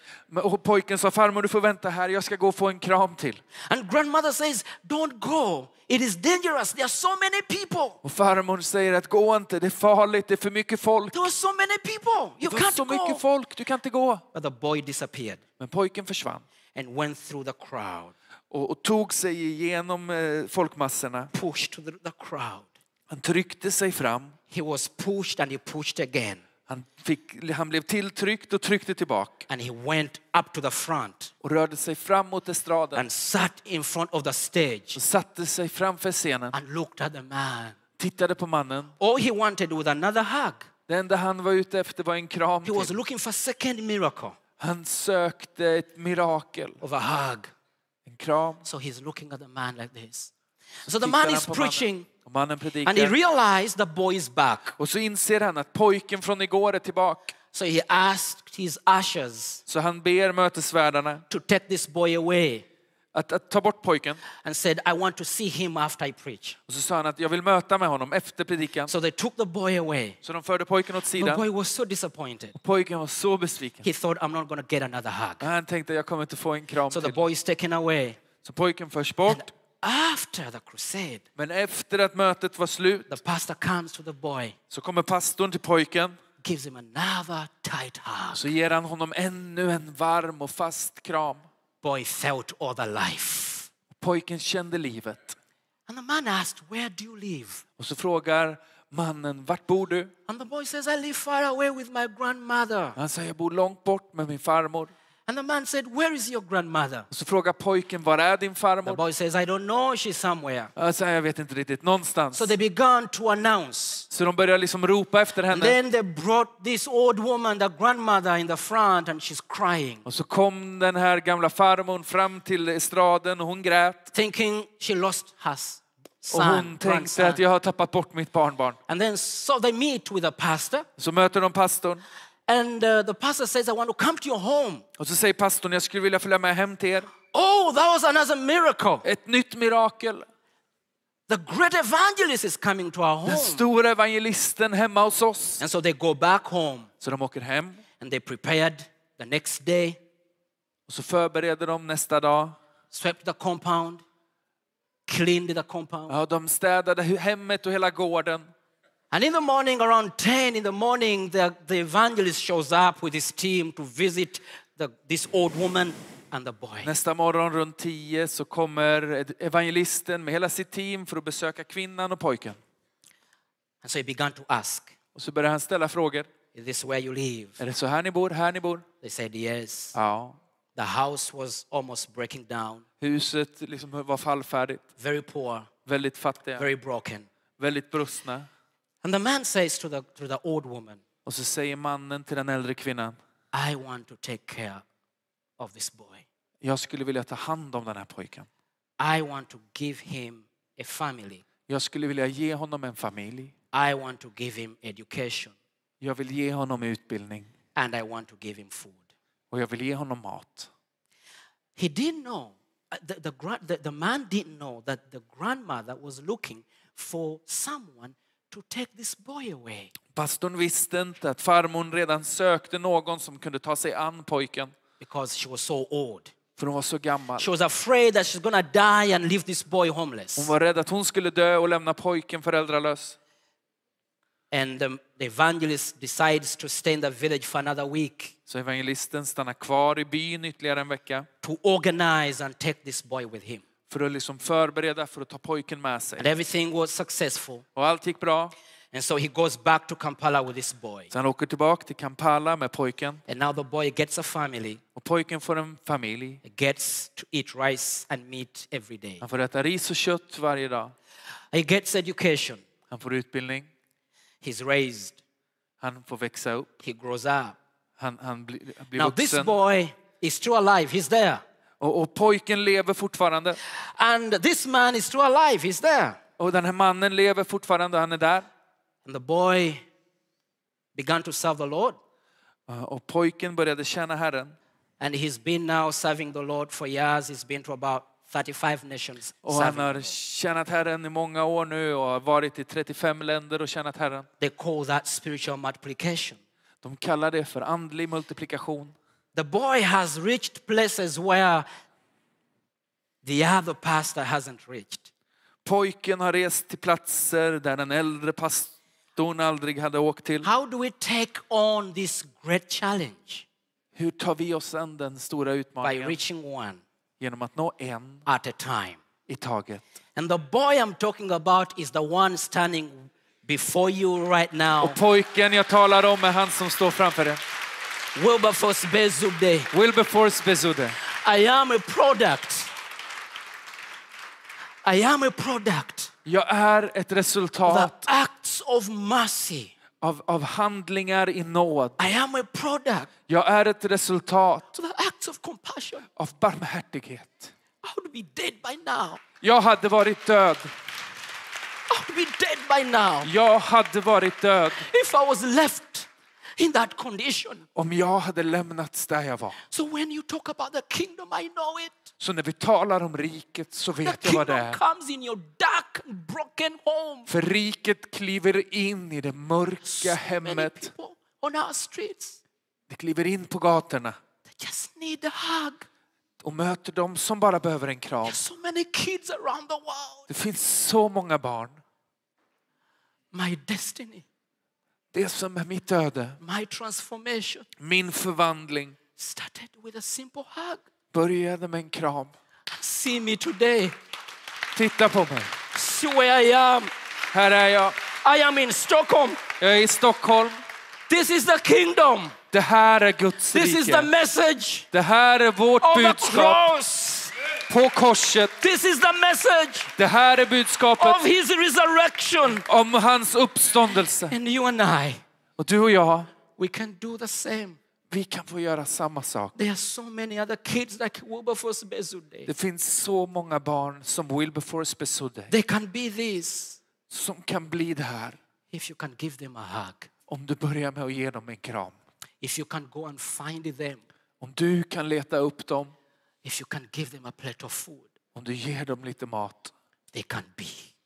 [SPEAKER 2] Och pojken sa, farmor du får vänta här, jag ska gå och få en kram till.
[SPEAKER 1] And grandmother says, don't go. It is dangerous. There are so many people.
[SPEAKER 2] Och farmor säger att gå inte, det är farligt, det är för mycket folk.
[SPEAKER 1] There were so many people. You
[SPEAKER 2] Det var så
[SPEAKER 1] can't go.
[SPEAKER 2] mycket folk, du kan inte gå.
[SPEAKER 1] But the boy disappeared
[SPEAKER 2] Men pojken försvann
[SPEAKER 1] and went through the crowd,
[SPEAKER 2] och, och tog sig igenom eh, folkmassorna.
[SPEAKER 1] pushed to the, the crowd.
[SPEAKER 2] Han tryckte sig fram.
[SPEAKER 1] He was pushed and he pushed again.
[SPEAKER 2] Han, fick, han blev tilltryckt och tryckte tillbaka.
[SPEAKER 1] And he went up to the front
[SPEAKER 2] Och rörde sig fram mot estraden.
[SPEAKER 1] and sat in front of the stage
[SPEAKER 2] Och satte sig framför scenen.
[SPEAKER 1] and looked at the man.
[SPEAKER 2] Tittade på mannen.
[SPEAKER 1] All he wanted was another hug.
[SPEAKER 2] Det enda han var ute efter var en kram
[SPEAKER 1] He was
[SPEAKER 2] till.
[SPEAKER 1] looking for a second miracle
[SPEAKER 2] Han sökte ett mirakel.
[SPEAKER 1] of a hug.
[SPEAKER 2] En kram.
[SPEAKER 1] So he's looking at the man like this. So the
[SPEAKER 2] Tittar
[SPEAKER 1] man
[SPEAKER 2] han
[SPEAKER 1] is
[SPEAKER 2] på mannen.
[SPEAKER 1] preaching
[SPEAKER 2] Och mannen
[SPEAKER 1] and he
[SPEAKER 2] predikar.
[SPEAKER 1] realized the boy is back.
[SPEAKER 2] Och så inser han att pojken från igår är tillbaka.
[SPEAKER 1] So he asked his ushers
[SPEAKER 2] Så han ber mötesvärdarna
[SPEAKER 1] to take this boy away
[SPEAKER 2] att, att ta bort pojken.
[SPEAKER 1] and said, I want to see him after I preach.
[SPEAKER 2] Och så sa han att jag vill möta med honom efter predikan.
[SPEAKER 1] So they took the boy away.
[SPEAKER 2] Så de förde pojken åt
[SPEAKER 1] The
[SPEAKER 2] sidan.
[SPEAKER 1] boy was so disappointed.
[SPEAKER 2] Och pojken var så besviken.
[SPEAKER 1] He thought, I'm not going to get another hug.
[SPEAKER 2] Han tänkte jag kommer inte få en kram
[SPEAKER 1] So the
[SPEAKER 2] till.
[SPEAKER 1] boy is taken away.
[SPEAKER 2] Så pojken förs bort.
[SPEAKER 1] After the crusade,
[SPEAKER 2] Men efter att mötet var slut
[SPEAKER 1] the pastor comes to the boy,
[SPEAKER 2] så kommer pastorn till pojken.
[SPEAKER 1] gives him another tight hug.
[SPEAKER 2] Så ger han honom ännu en varm och fast kram.
[SPEAKER 1] Boy felt all the life.
[SPEAKER 2] Pojken kände livet.
[SPEAKER 1] And the man asked, where do you live?
[SPEAKER 2] Och så frågar mannen, vart bor du?
[SPEAKER 1] And the boy says, I live far away with my grandmother.
[SPEAKER 2] Han säger, jag bor långt bort med min farmor.
[SPEAKER 1] And the man said, where is your grandmother?
[SPEAKER 2] Och så frågar pojken, var är din
[SPEAKER 1] The
[SPEAKER 2] farmor?
[SPEAKER 1] boy says, I don't know, she's somewhere.
[SPEAKER 2] Jag säger, jag vet inte riktigt, någonstans.
[SPEAKER 1] So they began to announce.
[SPEAKER 2] Så de börjar liksom ropa efter
[SPEAKER 1] And
[SPEAKER 2] henne.
[SPEAKER 1] then they brought this old woman, the grandmother, in the front, and she's crying,
[SPEAKER 2] Och så kom den här gamla farmor fram till estraden och hon grät.
[SPEAKER 1] thinking she lost her
[SPEAKER 2] Och hon
[SPEAKER 1] son,
[SPEAKER 2] tänkte
[SPEAKER 1] grandson.
[SPEAKER 2] att jag har tappat bort mitt barnbarn.
[SPEAKER 1] And then so they meet with the pastor.
[SPEAKER 2] Så möter de pastorn.
[SPEAKER 1] And uh, the pastor says, I want to come to your home.
[SPEAKER 2] Och så säger pastorn, jag skulle vilja följa med hem till er.
[SPEAKER 1] Oh, that was another miracle.
[SPEAKER 2] Ett nytt mirakel.
[SPEAKER 1] The great evangelist is coming to our home.
[SPEAKER 2] Den stora evangelisten hemma hos oss.
[SPEAKER 1] And so they go back home
[SPEAKER 2] Så de åker hem.
[SPEAKER 1] and they prepared the next day,
[SPEAKER 2] Och så förbereder de nästa dag.
[SPEAKER 1] swept the compound, cleaned the compound.
[SPEAKER 2] Ja, de städade hemmet och hela gården.
[SPEAKER 1] And in the morning, around ten in the morning, the, the evangelist shows up with his team to visit the, this old woman and the boy.
[SPEAKER 2] Nästa morgon runt tio så kommer evangelisten med hela sitt team för att besöka kvinnan och pojken.
[SPEAKER 1] And so he began to ask,
[SPEAKER 2] Och så börjar han ställa frågor.
[SPEAKER 1] is this where you live?
[SPEAKER 2] Är det så här ni bor? Här ni bor?
[SPEAKER 1] They said yes.
[SPEAKER 2] Ja.
[SPEAKER 1] The house was almost breaking down,
[SPEAKER 2] Huset liksom var fallfärdigt.
[SPEAKER 1] very poor,
[SPEAKER 2] Väldigt fattiga.
[SPEAKER 1] very broken.
[SPEAKER 2] Väldigt brustna.
[SPEAKER 1] And the man says to the, to the old woman,
[SPEAKER 2] Och så säger mannen till den äldre kvinnan.
[SPEAKER 1] I want to take care of this boy.
[SPEAKER 2] Jag skulle vilja ta hand om den här pojken.
[SPEAKER 1] I want to give him a family.
[SPEAKER 2] Jag skulle vilja ge honom en familj.
[SPEAKER 1] I want to give him education.
[SPEAKER 2] Jag vill ge honom utbildning.
[SPEAKER 1] And I want to give him food.
[SPEAKER 2] Och jag vill ge honom mat.
[SPEAKER 1] He didn't know, the, the, gra- the, the man didn't know that the grandmother was looking for someone to take this boy away.
[SPEAKER 2] Pastorn visste inte att farmor redan sökte någon som kunde ta sig an pojken.
[SPEAKER 1] Because she was so old.
[SPEAKER 2] För hon var så gammal.
[SPEAKER 1] She was afraid that she's going to die and leave this boy homeless.
[SPEAKER 2] Hon var rädd att hon skulle dö och lämna pojken föräldralös.
[SPEAKER 1] And the, the evangelist decides to stay in the village for another week
[SPEAKER 2] Så evangelisten stannar kvar i byn ytterligare en vecka.
[SPEAKER 1] to organize and take this boy with him.
[SPEAKER 2] För att liksom förbereda för att ta pojken med sig.
[SPEAKER 1] And everything was successful.
[SPEAKER 2] Och allt gick bra.
[SPEAKER 1] And so he goes back to Kampala with this boy.
[SPEAKER 2] Så han åker tillbaka till Kampala med pojken.
[SPEAKER 1] And now the boy gets a family.
[SPEAKER 2] Och pojken får en familj.
[SPEAKER 1] He gets to eat rice and meat every day.
[SPEAKER 2] Han får äta ris och kött varje dag.
[SPEAKER 1] He gets education.
[SPEAKER 2] Han får utbildning.
[SPEAKER 1] He's raised.
[SPEAKER 2] Han får växa upp.
[SPEAKER 1] He grows up.
[SPEAKER 2] Han, han blir, blir
[SPEAKER 1] Now this
[SPEAKER 2] vuxen.
[SPEAKER 1] boy is still alive. He's there.
[SPEAKER 2] Och, och pojken lever fortfarande.
[SPEAKER 1] And this man is still alive. He's there.
[SPEAKER 2] Och den här mannen lever fortfarande, han är där.
[SPEAKER 1] And the boy began to serve the Lord.
[SPEAKER 2] Och pojken började tjäna Herren.
[SPEAKER 1] And he's been now serving the Lord for years. He's been to about thirty-five nations.
[SPEAKER 2] Och han har tjänat Herren i många år nu och har varit i trettiofem länder och tjänat Herren.
[SPEAKER 1] They call that spiritual multiplication.
[SPEAKER 2] De kallar det för andlig multiplikation.
[SPEAKER 1] The boy has reached places where the other pastor hasn't reached.
[SPEAKER 2] Pojken har rest till platser där den äldre pastorn aldrig hade åkt till.
[SPEAKER 1] How do we take on this great challenge?
[SPEAKER 2] Hur tar vi oss an den stora
[SPEAKER 1] By
[SPEAKER 2] utmaningen?
[SPEAKER 1] reaching one
[SPEAKER 2] Genom att nå en
[SPEAKER 1] at a time.
[SPEAKER 2] i taget.
[SPEAKER 1] And the boy I'm talking about is the one standing before you right now.
[SPEAKER 2] Och pojken jag talar om är han som står framför dig.
[SPEAKER 1] Wilberforce Bezude.
[SPEAKER 2] Wilberforce Bezude.
[SPEAKER 1] I am a product. I am a product
[SPEAKER 2] Jag är ett
[SPEAKER 1] of the
[SPEAKER 2] resultat
[SPEAKER 1] acts of mercy.
[SPEAKER 2] av, av handlingar i nåd.
[SPEAKER 1] I am a product
[SPEAKER 2] Jag är ett resultat
[SPEAKER 1] of the acts of compassion.
[SPEAKER 2] av barmhärtighet.
[SPEAKER 1] I would be dead by now.
[SPEAKER 2] Jag hade varit död.
[SPEAKER 1] I would be dead by now
[SPEAKER 2] Jag hade varit död
[SPEAKER 1] if I was left in that condition.
[SPEAKER 2] om jag hade lämnats där jag var.
[SPEAKER 1] So when you talk about the kingdom, I know it.
[SPEAKER 2] Så när vi talar om riket så
[SPEAKER 1] The
[SPEAKER 2] vet jag vad det
[SPEAKER 1] kingdom
[SPEAKER 2] är.
[SPEAKER 1] comes in your dark and broken home.
[SPEAKER 2] För riket kliver in i det mörka
[SPEAKER 1] So many
[SPEAKER 2] hemmet.
[SPEAKER 1] people on our streets,
[SPEAKER 2] Det kliver in på gatorna
[SPEAKER 1] they just need a hug.
[SPEAKER 2] och möter dem som bara behöver en kram.
[SPEAKER 1] There's so many kids around the world.
[SPEAKER 2] Det finns så många barn.
[SPEAKER 1] My destiny,
[SPEAKER 2] Det som är mitt öde,
[SPEAKER 1] my transformation
[SPEAKER 2] min förvandling
[SPEAKER 1] started with a simple hug.
[SPEAKER 2] började med en kram.
[SPEAKER 1] See me today.
[SPEAKER 2] Titta på mig.
[SPEAKER 1] See where I am.
[SPEAKER 2] Här är jag.
[SPEAKER 1] I am in Stockholm.
[SPEAKER 2] Jag är i Stockholm.
[SPEAKER 1] This is the kingdom.
[SPEAKER 2] Det här är Guds
[SPEAKER 1] This is the
[SPEAKER 2] rike.
[SPEAKER 1] message
[SPEAKER 2] Det här är vårt
[SPEAKER 1] of the
[SPEAKER 2] budskap
[SPEAKER 1] cross.
[SPEAKER 2] på korset.
[SPEAKER 1] This is the message
[SPEAKER 2] Det här är
[SPEAKER 1] of
[SPEAKER 2] budskapet
[SPEAKER 1] his resurrection.
[SPEAKER 2] om hans uppståndelse.
[SPEAKER 1] And you and I,
[SPEAKER 2] Och du och jag,
[SPEAKER 1] we can do the same.
[SPEAKER 2] vi kan få göra samma sak.
[SPEAKER 1] There are so many other kids like Wilberforce Bezude.
[SPEAKER 2] Det finns så många barn som Wilberforce Bezude
[SPEAKER 1] They can be this
[SPEAKER 2] som kan bli det här
[SPEAKER 1] if you can give them a hug.
[SPEAKER 2] om du börjar med att ge dem en kram.
[SPEAKER 1] If you can go and find them.
[SPEAKER 2] Om du kan leta upp dem,
[SPEAKER 1] If you can give them a plate of food.
[SPEAKER 2] om du ger dem lite mat,
[SPEAKER 1] They can be.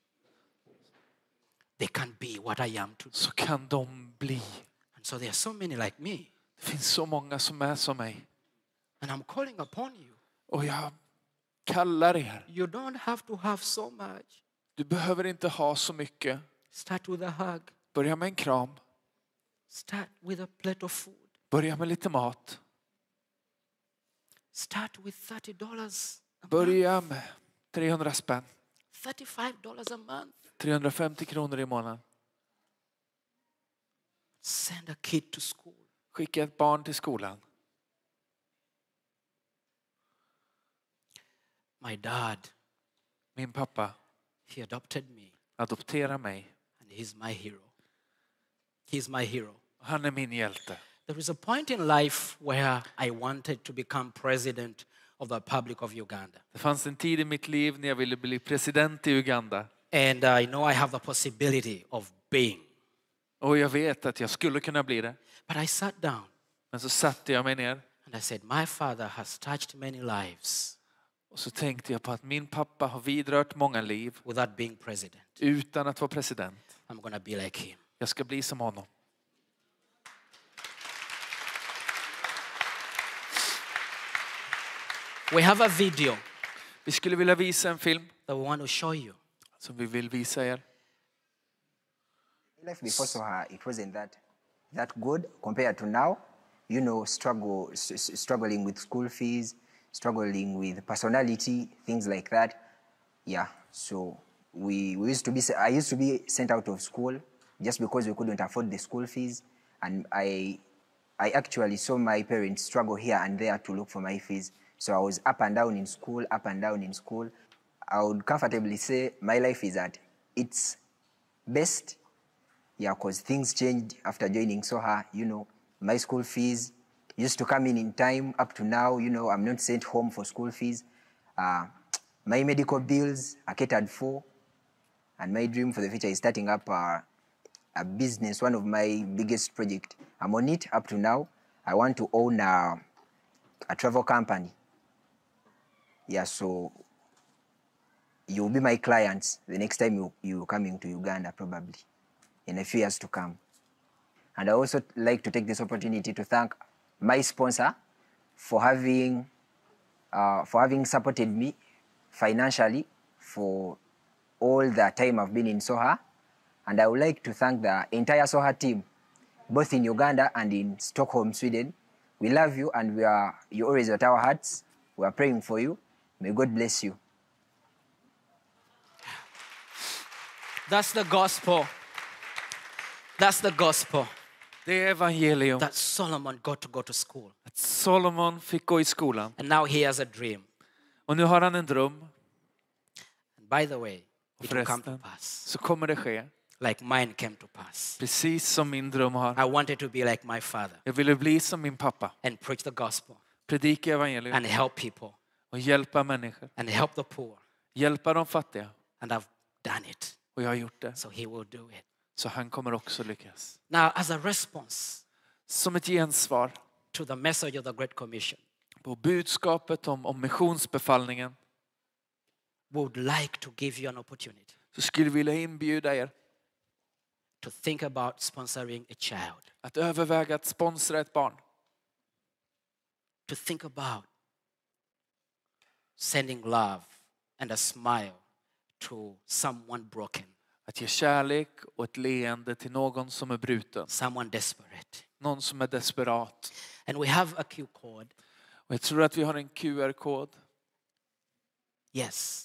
[SPEAKER 1] They can be what I am today.
[SPEAKER 2] så kan de bli.
[SPEAKER 1] And so there are so many like me.
[SPEAKER 2] Det finns så många som är som mig.
[SPEAKER 1] And I'm calling upon you.
[SPEAKER 2] Och jag kallar er.
[SPEAKER 1] You don't have to have so much.
[SPEAKER 2] Du behöver inte ha så mycket.
[SPEAKER 1] Start with a hug.
[SPEAKER 2] Börja med en kram.
[SPEAKER 1] Start with a plate of food.
[SPEAKER 2] Börja med lite mat.
[SPEAKER 1] Start with thirty dollars a month.
[SPEAKER 2] Börja med trehundra spänn.
[SPEAKER 1] thirty-five dollars a month.
[SPEAKER 2] trehundrafemtio kronor i månaden.
[SPEAKER 1] Send a kid to school.
[SPEAKER 2] Skicka ett barn till skolan.
[SPEAKER 1] My dad,
[SPEAKER 2] Min pappa
[SPEAKER 1] he adopted me.
[SPEAKER 2] adopterar mig.
[SPEAKER 1] And he's my hero. He's my hero.
[SPEAKER 2] Han är min hjälte.
[SPEAKER 1] There is a point in life where I wanted to become president of the Republic of Uganda.
[SPEAKER 2] Det fanns en tid i mitt liv när jag ville bli president i Uganda.
[SPEAKER 1] And I know I have the possibility of being.
[SPEAKER 2] Och jag vet att jag skulle kunna bli det.
[SPEAKER 1] But I sat down
[SPEAKER 2] Men så satte jag mig ner.
[SPEAKER 1] and I said, my father has touched many lives
[SPEAKER 2] Och så tänkte jag på att min pappa har vidrört många liv
[SPEAKER 1] without being president.
[SPEAKER 2] utan att vara president.
[SPEAKER 1] I'm going to be like him.
[SPEAKER 2] Jag ska bli som honom.
[SPEAKER 1] We have a video
[SPEAKER 2] Vi skulle vilja visa en film
[SPEAKER 1] that we want to show you.
[SPEAKER 2] som vi vill visa er.
[SPEAKER 3] Life before Soha, it wasn't that that good compared to now. You know, struggle, s- s- struggling with school fees, struggling with personality, things like that. Yeah. So we, we used to be. I used to be sent out of school just because we couldn't afford the school fees, and I, I actually saw my parents struggle here and there to look for my fees. So I was up and down in school, up and down in school. I would comfortably say my life is at its best. Yeah, because things changed after joining Soha. You know, my school fees, used to come in in time. Up to now, you know, I'm not sent home for school fees. Uh, my medical bills are catered for. And my dream for the future is starting up a, a business, one of my biggest projects. I'm on it up to now. I want to own a, a travel company. Yeah, so you'll be my clients the next time you, you're coming to Uganda, probably, in a few years to come. And I also like to take this opportunity to thank my sponsor for having, uh, for having supported me financially for all the time I've been in Soha. And I would like to thank the entire Soha team, both in Uganda and in Stockholm, Sweden. We love you and we are, you're always at our hearts. We are praying for you. May God bless you.
[SPEAKER 1] That's the gospel. That's the gospel.
[SPEAKER 2] Det är evangelium.
[SPEAKER 1] That Solomon got to go to school.
[SPEAKER 2] Att Solomon fick gå i skolan.
[SPEAKER 1] And now he has a dream.
[SPEAKER 2] Och nu har han en dröm.
[SPEAKER 1] And by the way,
[SPEAKER 2] Och
[SPEAKER 1] it will come to
[SPEAKER 2] förresten
[SPEAKER 1] pass.
[SPEAKER 2] så kommer det ske.
[SPEAKER 1] Like mine came to pass.
[SPEAKER 2] Precis som min dröm har.
[SPEAKER 1] I wanted to be like my father
[SPEAKER 2] Jag ville bli som min pappa.
[SPEAKER 1] and preach the gospel
[SPEAKER 2] Predika evangelium.
[SPEAKER 1] and help people
[SPEAKER 2] Och hjälpa människor.
[SPEAKER 1] and help the poor.
[SPEAKER 2] Hjälpa de fattiga.
[SPEAKER 1] And I've done it.
[SPEAKER 2] Och jag har gjort det.
[SPEAKER 1] So he will do it.
[SPEAKER 2] Så han kommer också lyckas.
[SPEAKER 1] Now, as a response
[SPEAKER 2] Som ett gensvar
[SPEAKER 1] to the message of the Great Commission,
[SPEAKER 2] på budskapet om, om missionsbefallningen.
[SPEAKER 1] we would like to give you an opportunity
[SPEAKER 2] Så skulle vi vilja inbjuda er
[SPEAKER 1] to think about sponsoring a child,
[SPEAKER 2] att överväga att sponsra ett barn.
[SPEAKER 1] to think about sending love and a smile to someone broken,
[SPEAKER 2] Att ge kärlek och ett leende till någon som är bruten.
[SPEAKER 1] someone desperate.
[SPEAKER 2] Någon som är desperat.
[SPEAKER 1] And we have a Q code.
[SPEAKER 2] Och jag tror att vi har en Q R-kod.
[SPEAKER 1] Yes.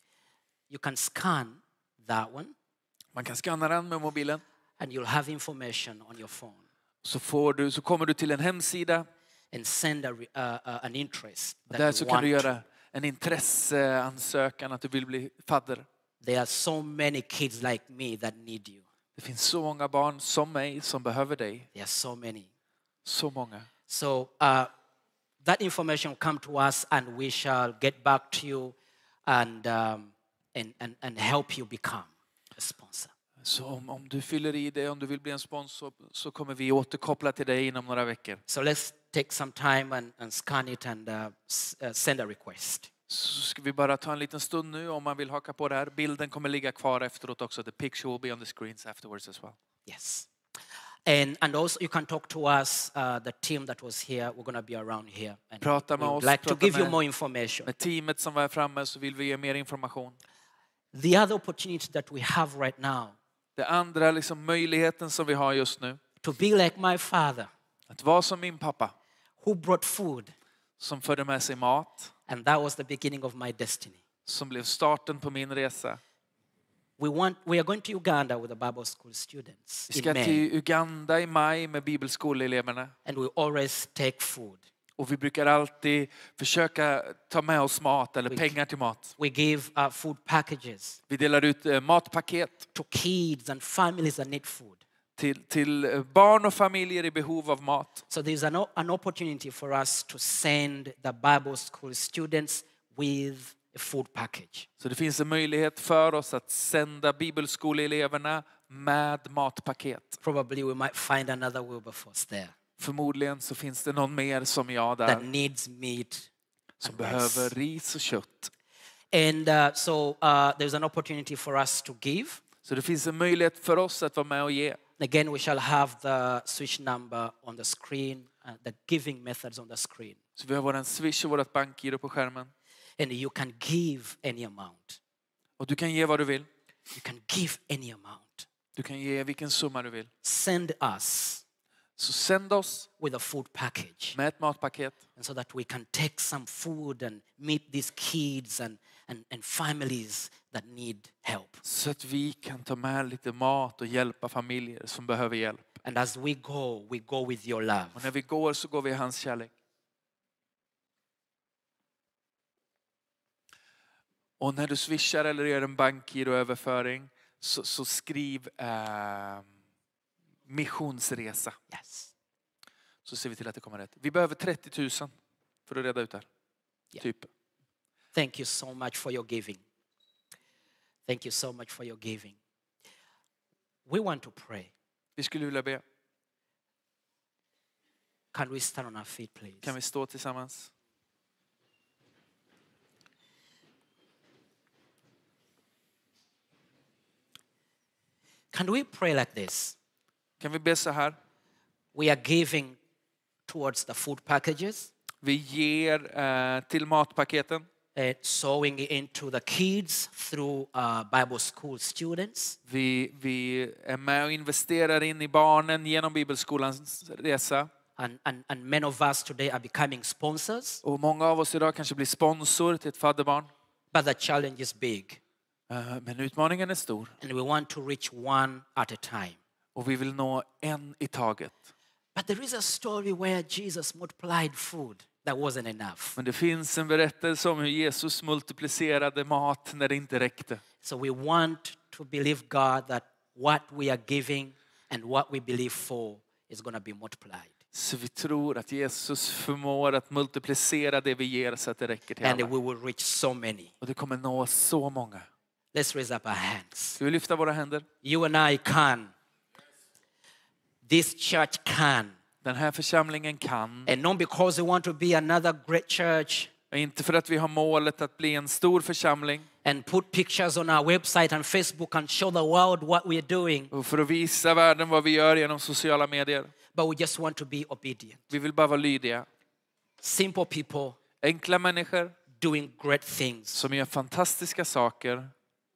[SPEAKER 1] You can scan that one
[SPEAKER 2] Man kan skanna den med mobilen.
[SPEAKER 1] and you'll have information on your phone
[SPEAKER 2] Så, får du, så kommer du till en hemsida.
[SPEAKER 1] and send a, re- uh, uh, an interest that
[SPEAKER 2] Där
[SPEAKER 1] you
[SPEAKER 2] så kan
[SPEAKER 1] want
[SPEAKER 2] du
[SPEAKER 1] to.
[SPEAKER 2] göra en intresseansökan att du vill bli fadder.
[SPEAKER 1] There are so many kids like me that need you.
[SPEAKER 2] Det finns så många barn som mig som behöver dig.
[SPEAKER 1] There are so many.
[SPEAKER 2] Så många.
[SPEAKER 1] So uh, that information will come to us and we shall get back to you and, um, and, and, and help you become a sponsor.
[SPEAKER 2] Så om, om du fyller i det, om du vill bli en sponsor, så kommer vi återkoppla till dig inom några veckor.
[SPEAKER 1] So let's take some time and, and scan it and uh, s- uh, send a request.
[SPEAKER 2] Så ska vi bara ta en liten stund nu om man vill haka på det här. Bilden kommer ligga kvar efteråt också. The picture will be on the screens afterwards as well.
[SPEAKER 1] Yes. And, and also you can talk to us, uh, the team that was here, we're going to be around here. And
[SPEAKER 2] Prata
[SPEAKER 1] we
[SPEAKER 2] med
[SPEAKER 1] would
[SPEAKER 2] oss,
[SPEAKER 1] like to
[SPEAKER 2] prata
[SPEAKER 1] give you
[SPEAKER 2] med-
[SPEAKER 1] more information.
[SPEAKER 2] Med teamet som var här framme så vill vi ge mer information.
[SPEAKER 1] The other opportunity that we have right now,
[SPEAKER 2] Det andra liksom möjligheten som vi har just nu.
[SPEAKER 1] to be like my father,
[SPEAKER 2] Att vara som min pappa
[SPEAKER 1] who brought food,
[SPEAKER 2] som förde med sig mat.
[SPEAKER 1] and that was the beginning of my destiny.
[SPEAKER 2] Som blev starten på min resa.
[SPEAKER 1] We want we are going to Uganda with the Bible school students
[SPEAKER 2] Vi
[SPEAKER 1] in
[SPEAKER 2] ska
[SPEAKER 1] May,
[SPEAKER 2] till Uganda i maj med bibelskoleeleverna.
[SPEAKER 1] and we always take food.
[SPEAKER 2] Och vi brukar alltid försöka ta med oss mat eller pengar till mat.
[SPEAKER 1] We give uh, food packages
[SPEAKER 2] Vi delar ut eh, matpaket
[SPEAKER 1] to kids and families that need food.
[SPEAKER 2] till, till eh, barn och familjer i behov av mat.
[SPEAKER 1] So there's an, o- an opportunity for us to send the Bible school students with a food package.
[SPEAKER 2] Så det finns en möjlighet för oss att sända bibelskoleeleverna med matpaket.
[SPEAKER 1] Probably we might find another Wilberforce there
[SPEAKER 2] Förmodligen så finns det någon mer som jag
[SPEAKER 1] that
[SPEAKER 2] där
[SPEAKER 1] needs meat
[SPEAKER 2] som
[SPEAKER 1] and rice.
[SPEAKER 2] behöver ris och kött.
[SPEAKER 1] And uh, so uh, there's an opportunity for us to give.
[SPEAKER 2] Så det finns en möjlighet för oss att vara med och ge.
[SPEAKER 1] Again, we shall have the switch number on the screen, uh, the giving methods on the screen.
[SPEAKER 2] Så vi har våran Swish och vårat bankgiro på skärmen.
[SPEAKER 1] And you can give any amount.
[SPEAKER 2] Och du kan ge vad du vill.
[SPEAKER 1] You can give any amount.
[SPEAKER 2] Du kan ge vilken summa du vill.
[SPEAKER 1] Send us
[SPEAKER 2] Så sänd oss
[SPEAKER 1] with a food package,
[SPEAKER 2] med ett matpaket.
[SPEAKER 1] and so that we can take some food and meet these kids and, and, and families that need help.
[SPEAKER 2] Så att vi kan ta med lite mat och hjälpa familjer som behöver hjälp.
[SPEAKER 1] And as we go, we go with your love.
[SPEAKER 2] Och när vi går så går vi i hans kärlek. Och när du swishar eller gör en bankgiroöverföring så, så skriv eh, missionsresa.
[SPEAKER 1] Yes.
[SPEAKER 2] så ser vi till att det kommer rätt. Vi behöver trettio tusen för att reda ut det här.
[SPEAKER 1] Yeah.
[SPEAKER 2] Typ.
[SPEAKER 1] Thank you so much for your giving. Thank you so much for your giving. We want to pray.
[SPEAKER 2] Vi skulle vilja be.
[SPEAKER 1] Can we stand on our feet, please?
[SPEAKER 2] Kan vi stå tillsammans?
[SPEAKER 1] Can we pray like this?
[SPEAKER 2] Kan vi be så här?
[SPEAKER 1] We are giving towards the food packages,
[SPEAKER 2] Vi ger eh, till matpaketen.
[SPEAKER 1] uh, sowing into the kids through uh, Bible school students.
[SPEAKER 2] Vi, vi är med och investerar in i barnen genom bibelskolans resa.
[SPEAKER 1] And, and, and many of us today are becoming sponsors,
[SPEAKER 2] Och många av oss idag kanske blir sponsor till ett fadderbarn.
[SPEAKER 1] but the challenge is big.
[SPEAKER 2] Eh, Men utmaningen är stor.
[SPEAKER 1] And we want to reach one at a time.
[SPEAKER 2] Och vi vill nå en i taget.
[SPEAKER 1] But there is a story where Jesus multiplied food that wasn't enough.
[SPEAKER 2] Men det finns en berättelse om hur Jesus multiplicerade mat när det inte räckte.
[SPEAKER 1] So we want to believe God that what we are giving and what we believe for is going to be multiplied.
[SPEAKER 2] Så vi tror att Jesus förmår att multiplicera det vi ger så att det räcker till
[SPEAKER 1] And
[SPEAKER 2] alla.
[SPEAKER 1] we will reach so many.
[SPEAKER 2] Och det kommer nå så många.
[SPEAKER 1] Let's raise up our hands.
[SPEAKER 2] Ska vi lyfta våra händer?
[SPEAKER 1] You and I can. This church can.
[SPEAKER 2] Den här församlingen kan.
[SPEAKER 1] And not because we want to be another great church
[SPEAKER 2] Inte för att vi har målet att bli en stor församling.
[SPEAKER 1] and put pictures on our website and Facebook and show the world what we are doing.
[SPEAKER 2] Och för att visa världen vad vi gör genom sociala medier.
[SPEAKER 1] But we just want to be obedient.
[SPEAKER 2] Vi vill bara vara lydiga.
[SPEAKER 1] Simple people
[SPEAKER 2] Enkla människor
[SPEAKER 1] doing great things
[SPEAKER 2] som gör fantastiska saker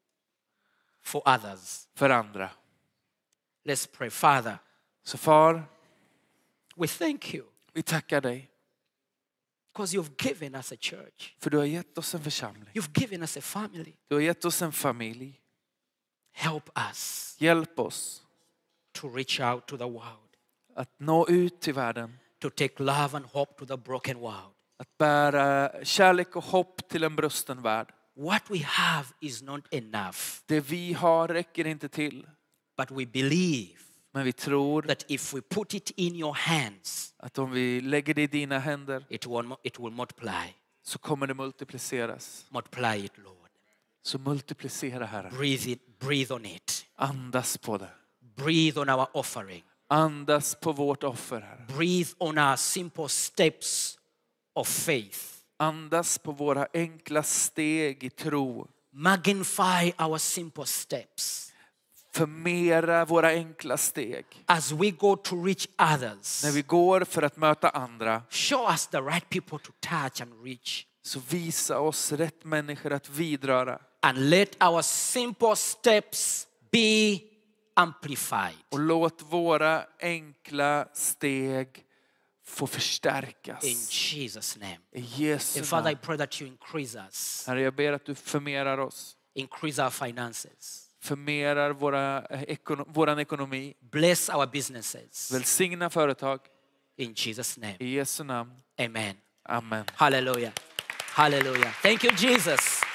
[SPEAKER 1] for others.
[SPEAKER 2] för andra.
[SPEAKER 1] Let's pray. Father,
[SPEAKER 2] Så far,
[SPEAKER 1] we thank you
[SPEAKER 2] vi tackar dig.
[SPEAKER 1] because you've given us a church.
[SPEAKER 2] För du har gett oss en församling.
[SPEAKER 1] You've given us a family.
[SPEAKER 2] Du har gett oss en familj.
[SPEAKER 1] Help us
[SPEAKER 2] Hjälp oss
[SPEAKER 1] to reach out to the world,
[SPEAKER 2] att nå ut till världen.
[SPEAKER 1] to take love and hope to the broken world.
[SPEAKER 2] Att bära kärlek och hopp till en brusten värld.
[SPEAKER 1] What we have is not enough,
[SPEAKER 2] Det vi har räcker inte till.
[SPEAKER 1] but we believe
[SPEAKER 2] Men vi tror
[SPEAKER 1] that if we put it in your hands,
[SPEAKER 2] att om vi lägger det i dina händer
[SPEAKER 1] it will, it will multiply.
[SPEAKER 2] så kommer det multipliceras.
[SPEAKER 1] Multiply it, Lord.
[SPEAKER 2] Så multiplicera, Herre.
[SPEAKER 1] Breathe it, breathe on it.
[SPEAKER 2] Andas på det.
[SPEAKER 1] Breathe on our offering.
[SPEAKER 2] Andas på vårt offer, Herre.
[SPEAKER 1] Breathe on our simple steps of faith.
[SPEAKER 2] Andas på våra enkla steg i tro.
[SPEAKER 1] Magnify our simple steps
[SPEAKER 2] Förmera våra enkla steg.
[SPEAKER 1] as we go to reach others.
[SPEAKER 2] När vi går för att möta andra,
[SPEAKER 1] Show us the right people to touch and reach.
[SPEAKER 2] så visa oss rätt människor att vidröra.
[SPEAKER 1] And let our simple steps be amplified.
[SPEAKER 2] Och låt våra enkla steg få förstärkas.
[SPEAKER 1] In Jesus' name.
[SPEAKER 2] I Jesu
[SPEAKER 1] And Father, I
[SPEAKER 2] namn.
[SPEAKER 1] pray that you increase us.
[SPEAKER 2] Herre, jag ber att du förmerar oss.
[SPEAKER 1] Increase our finances.
[SPEAKER 2] Förmerar våra, ekono, våran ekonomi.
[SPEAKER 1] Bless our businesses.
[SPEAKER 2] Välsigna företag.
[SPEAKER 1] In Jesus' name.
[SPEAKER 2] I Jesu namn.
[SPEAKER 1] Amen.
[SPEAKER 2] Amen.
[SPEAKER 1] Hallelujah. Hallelujah. Thank you, Jesus.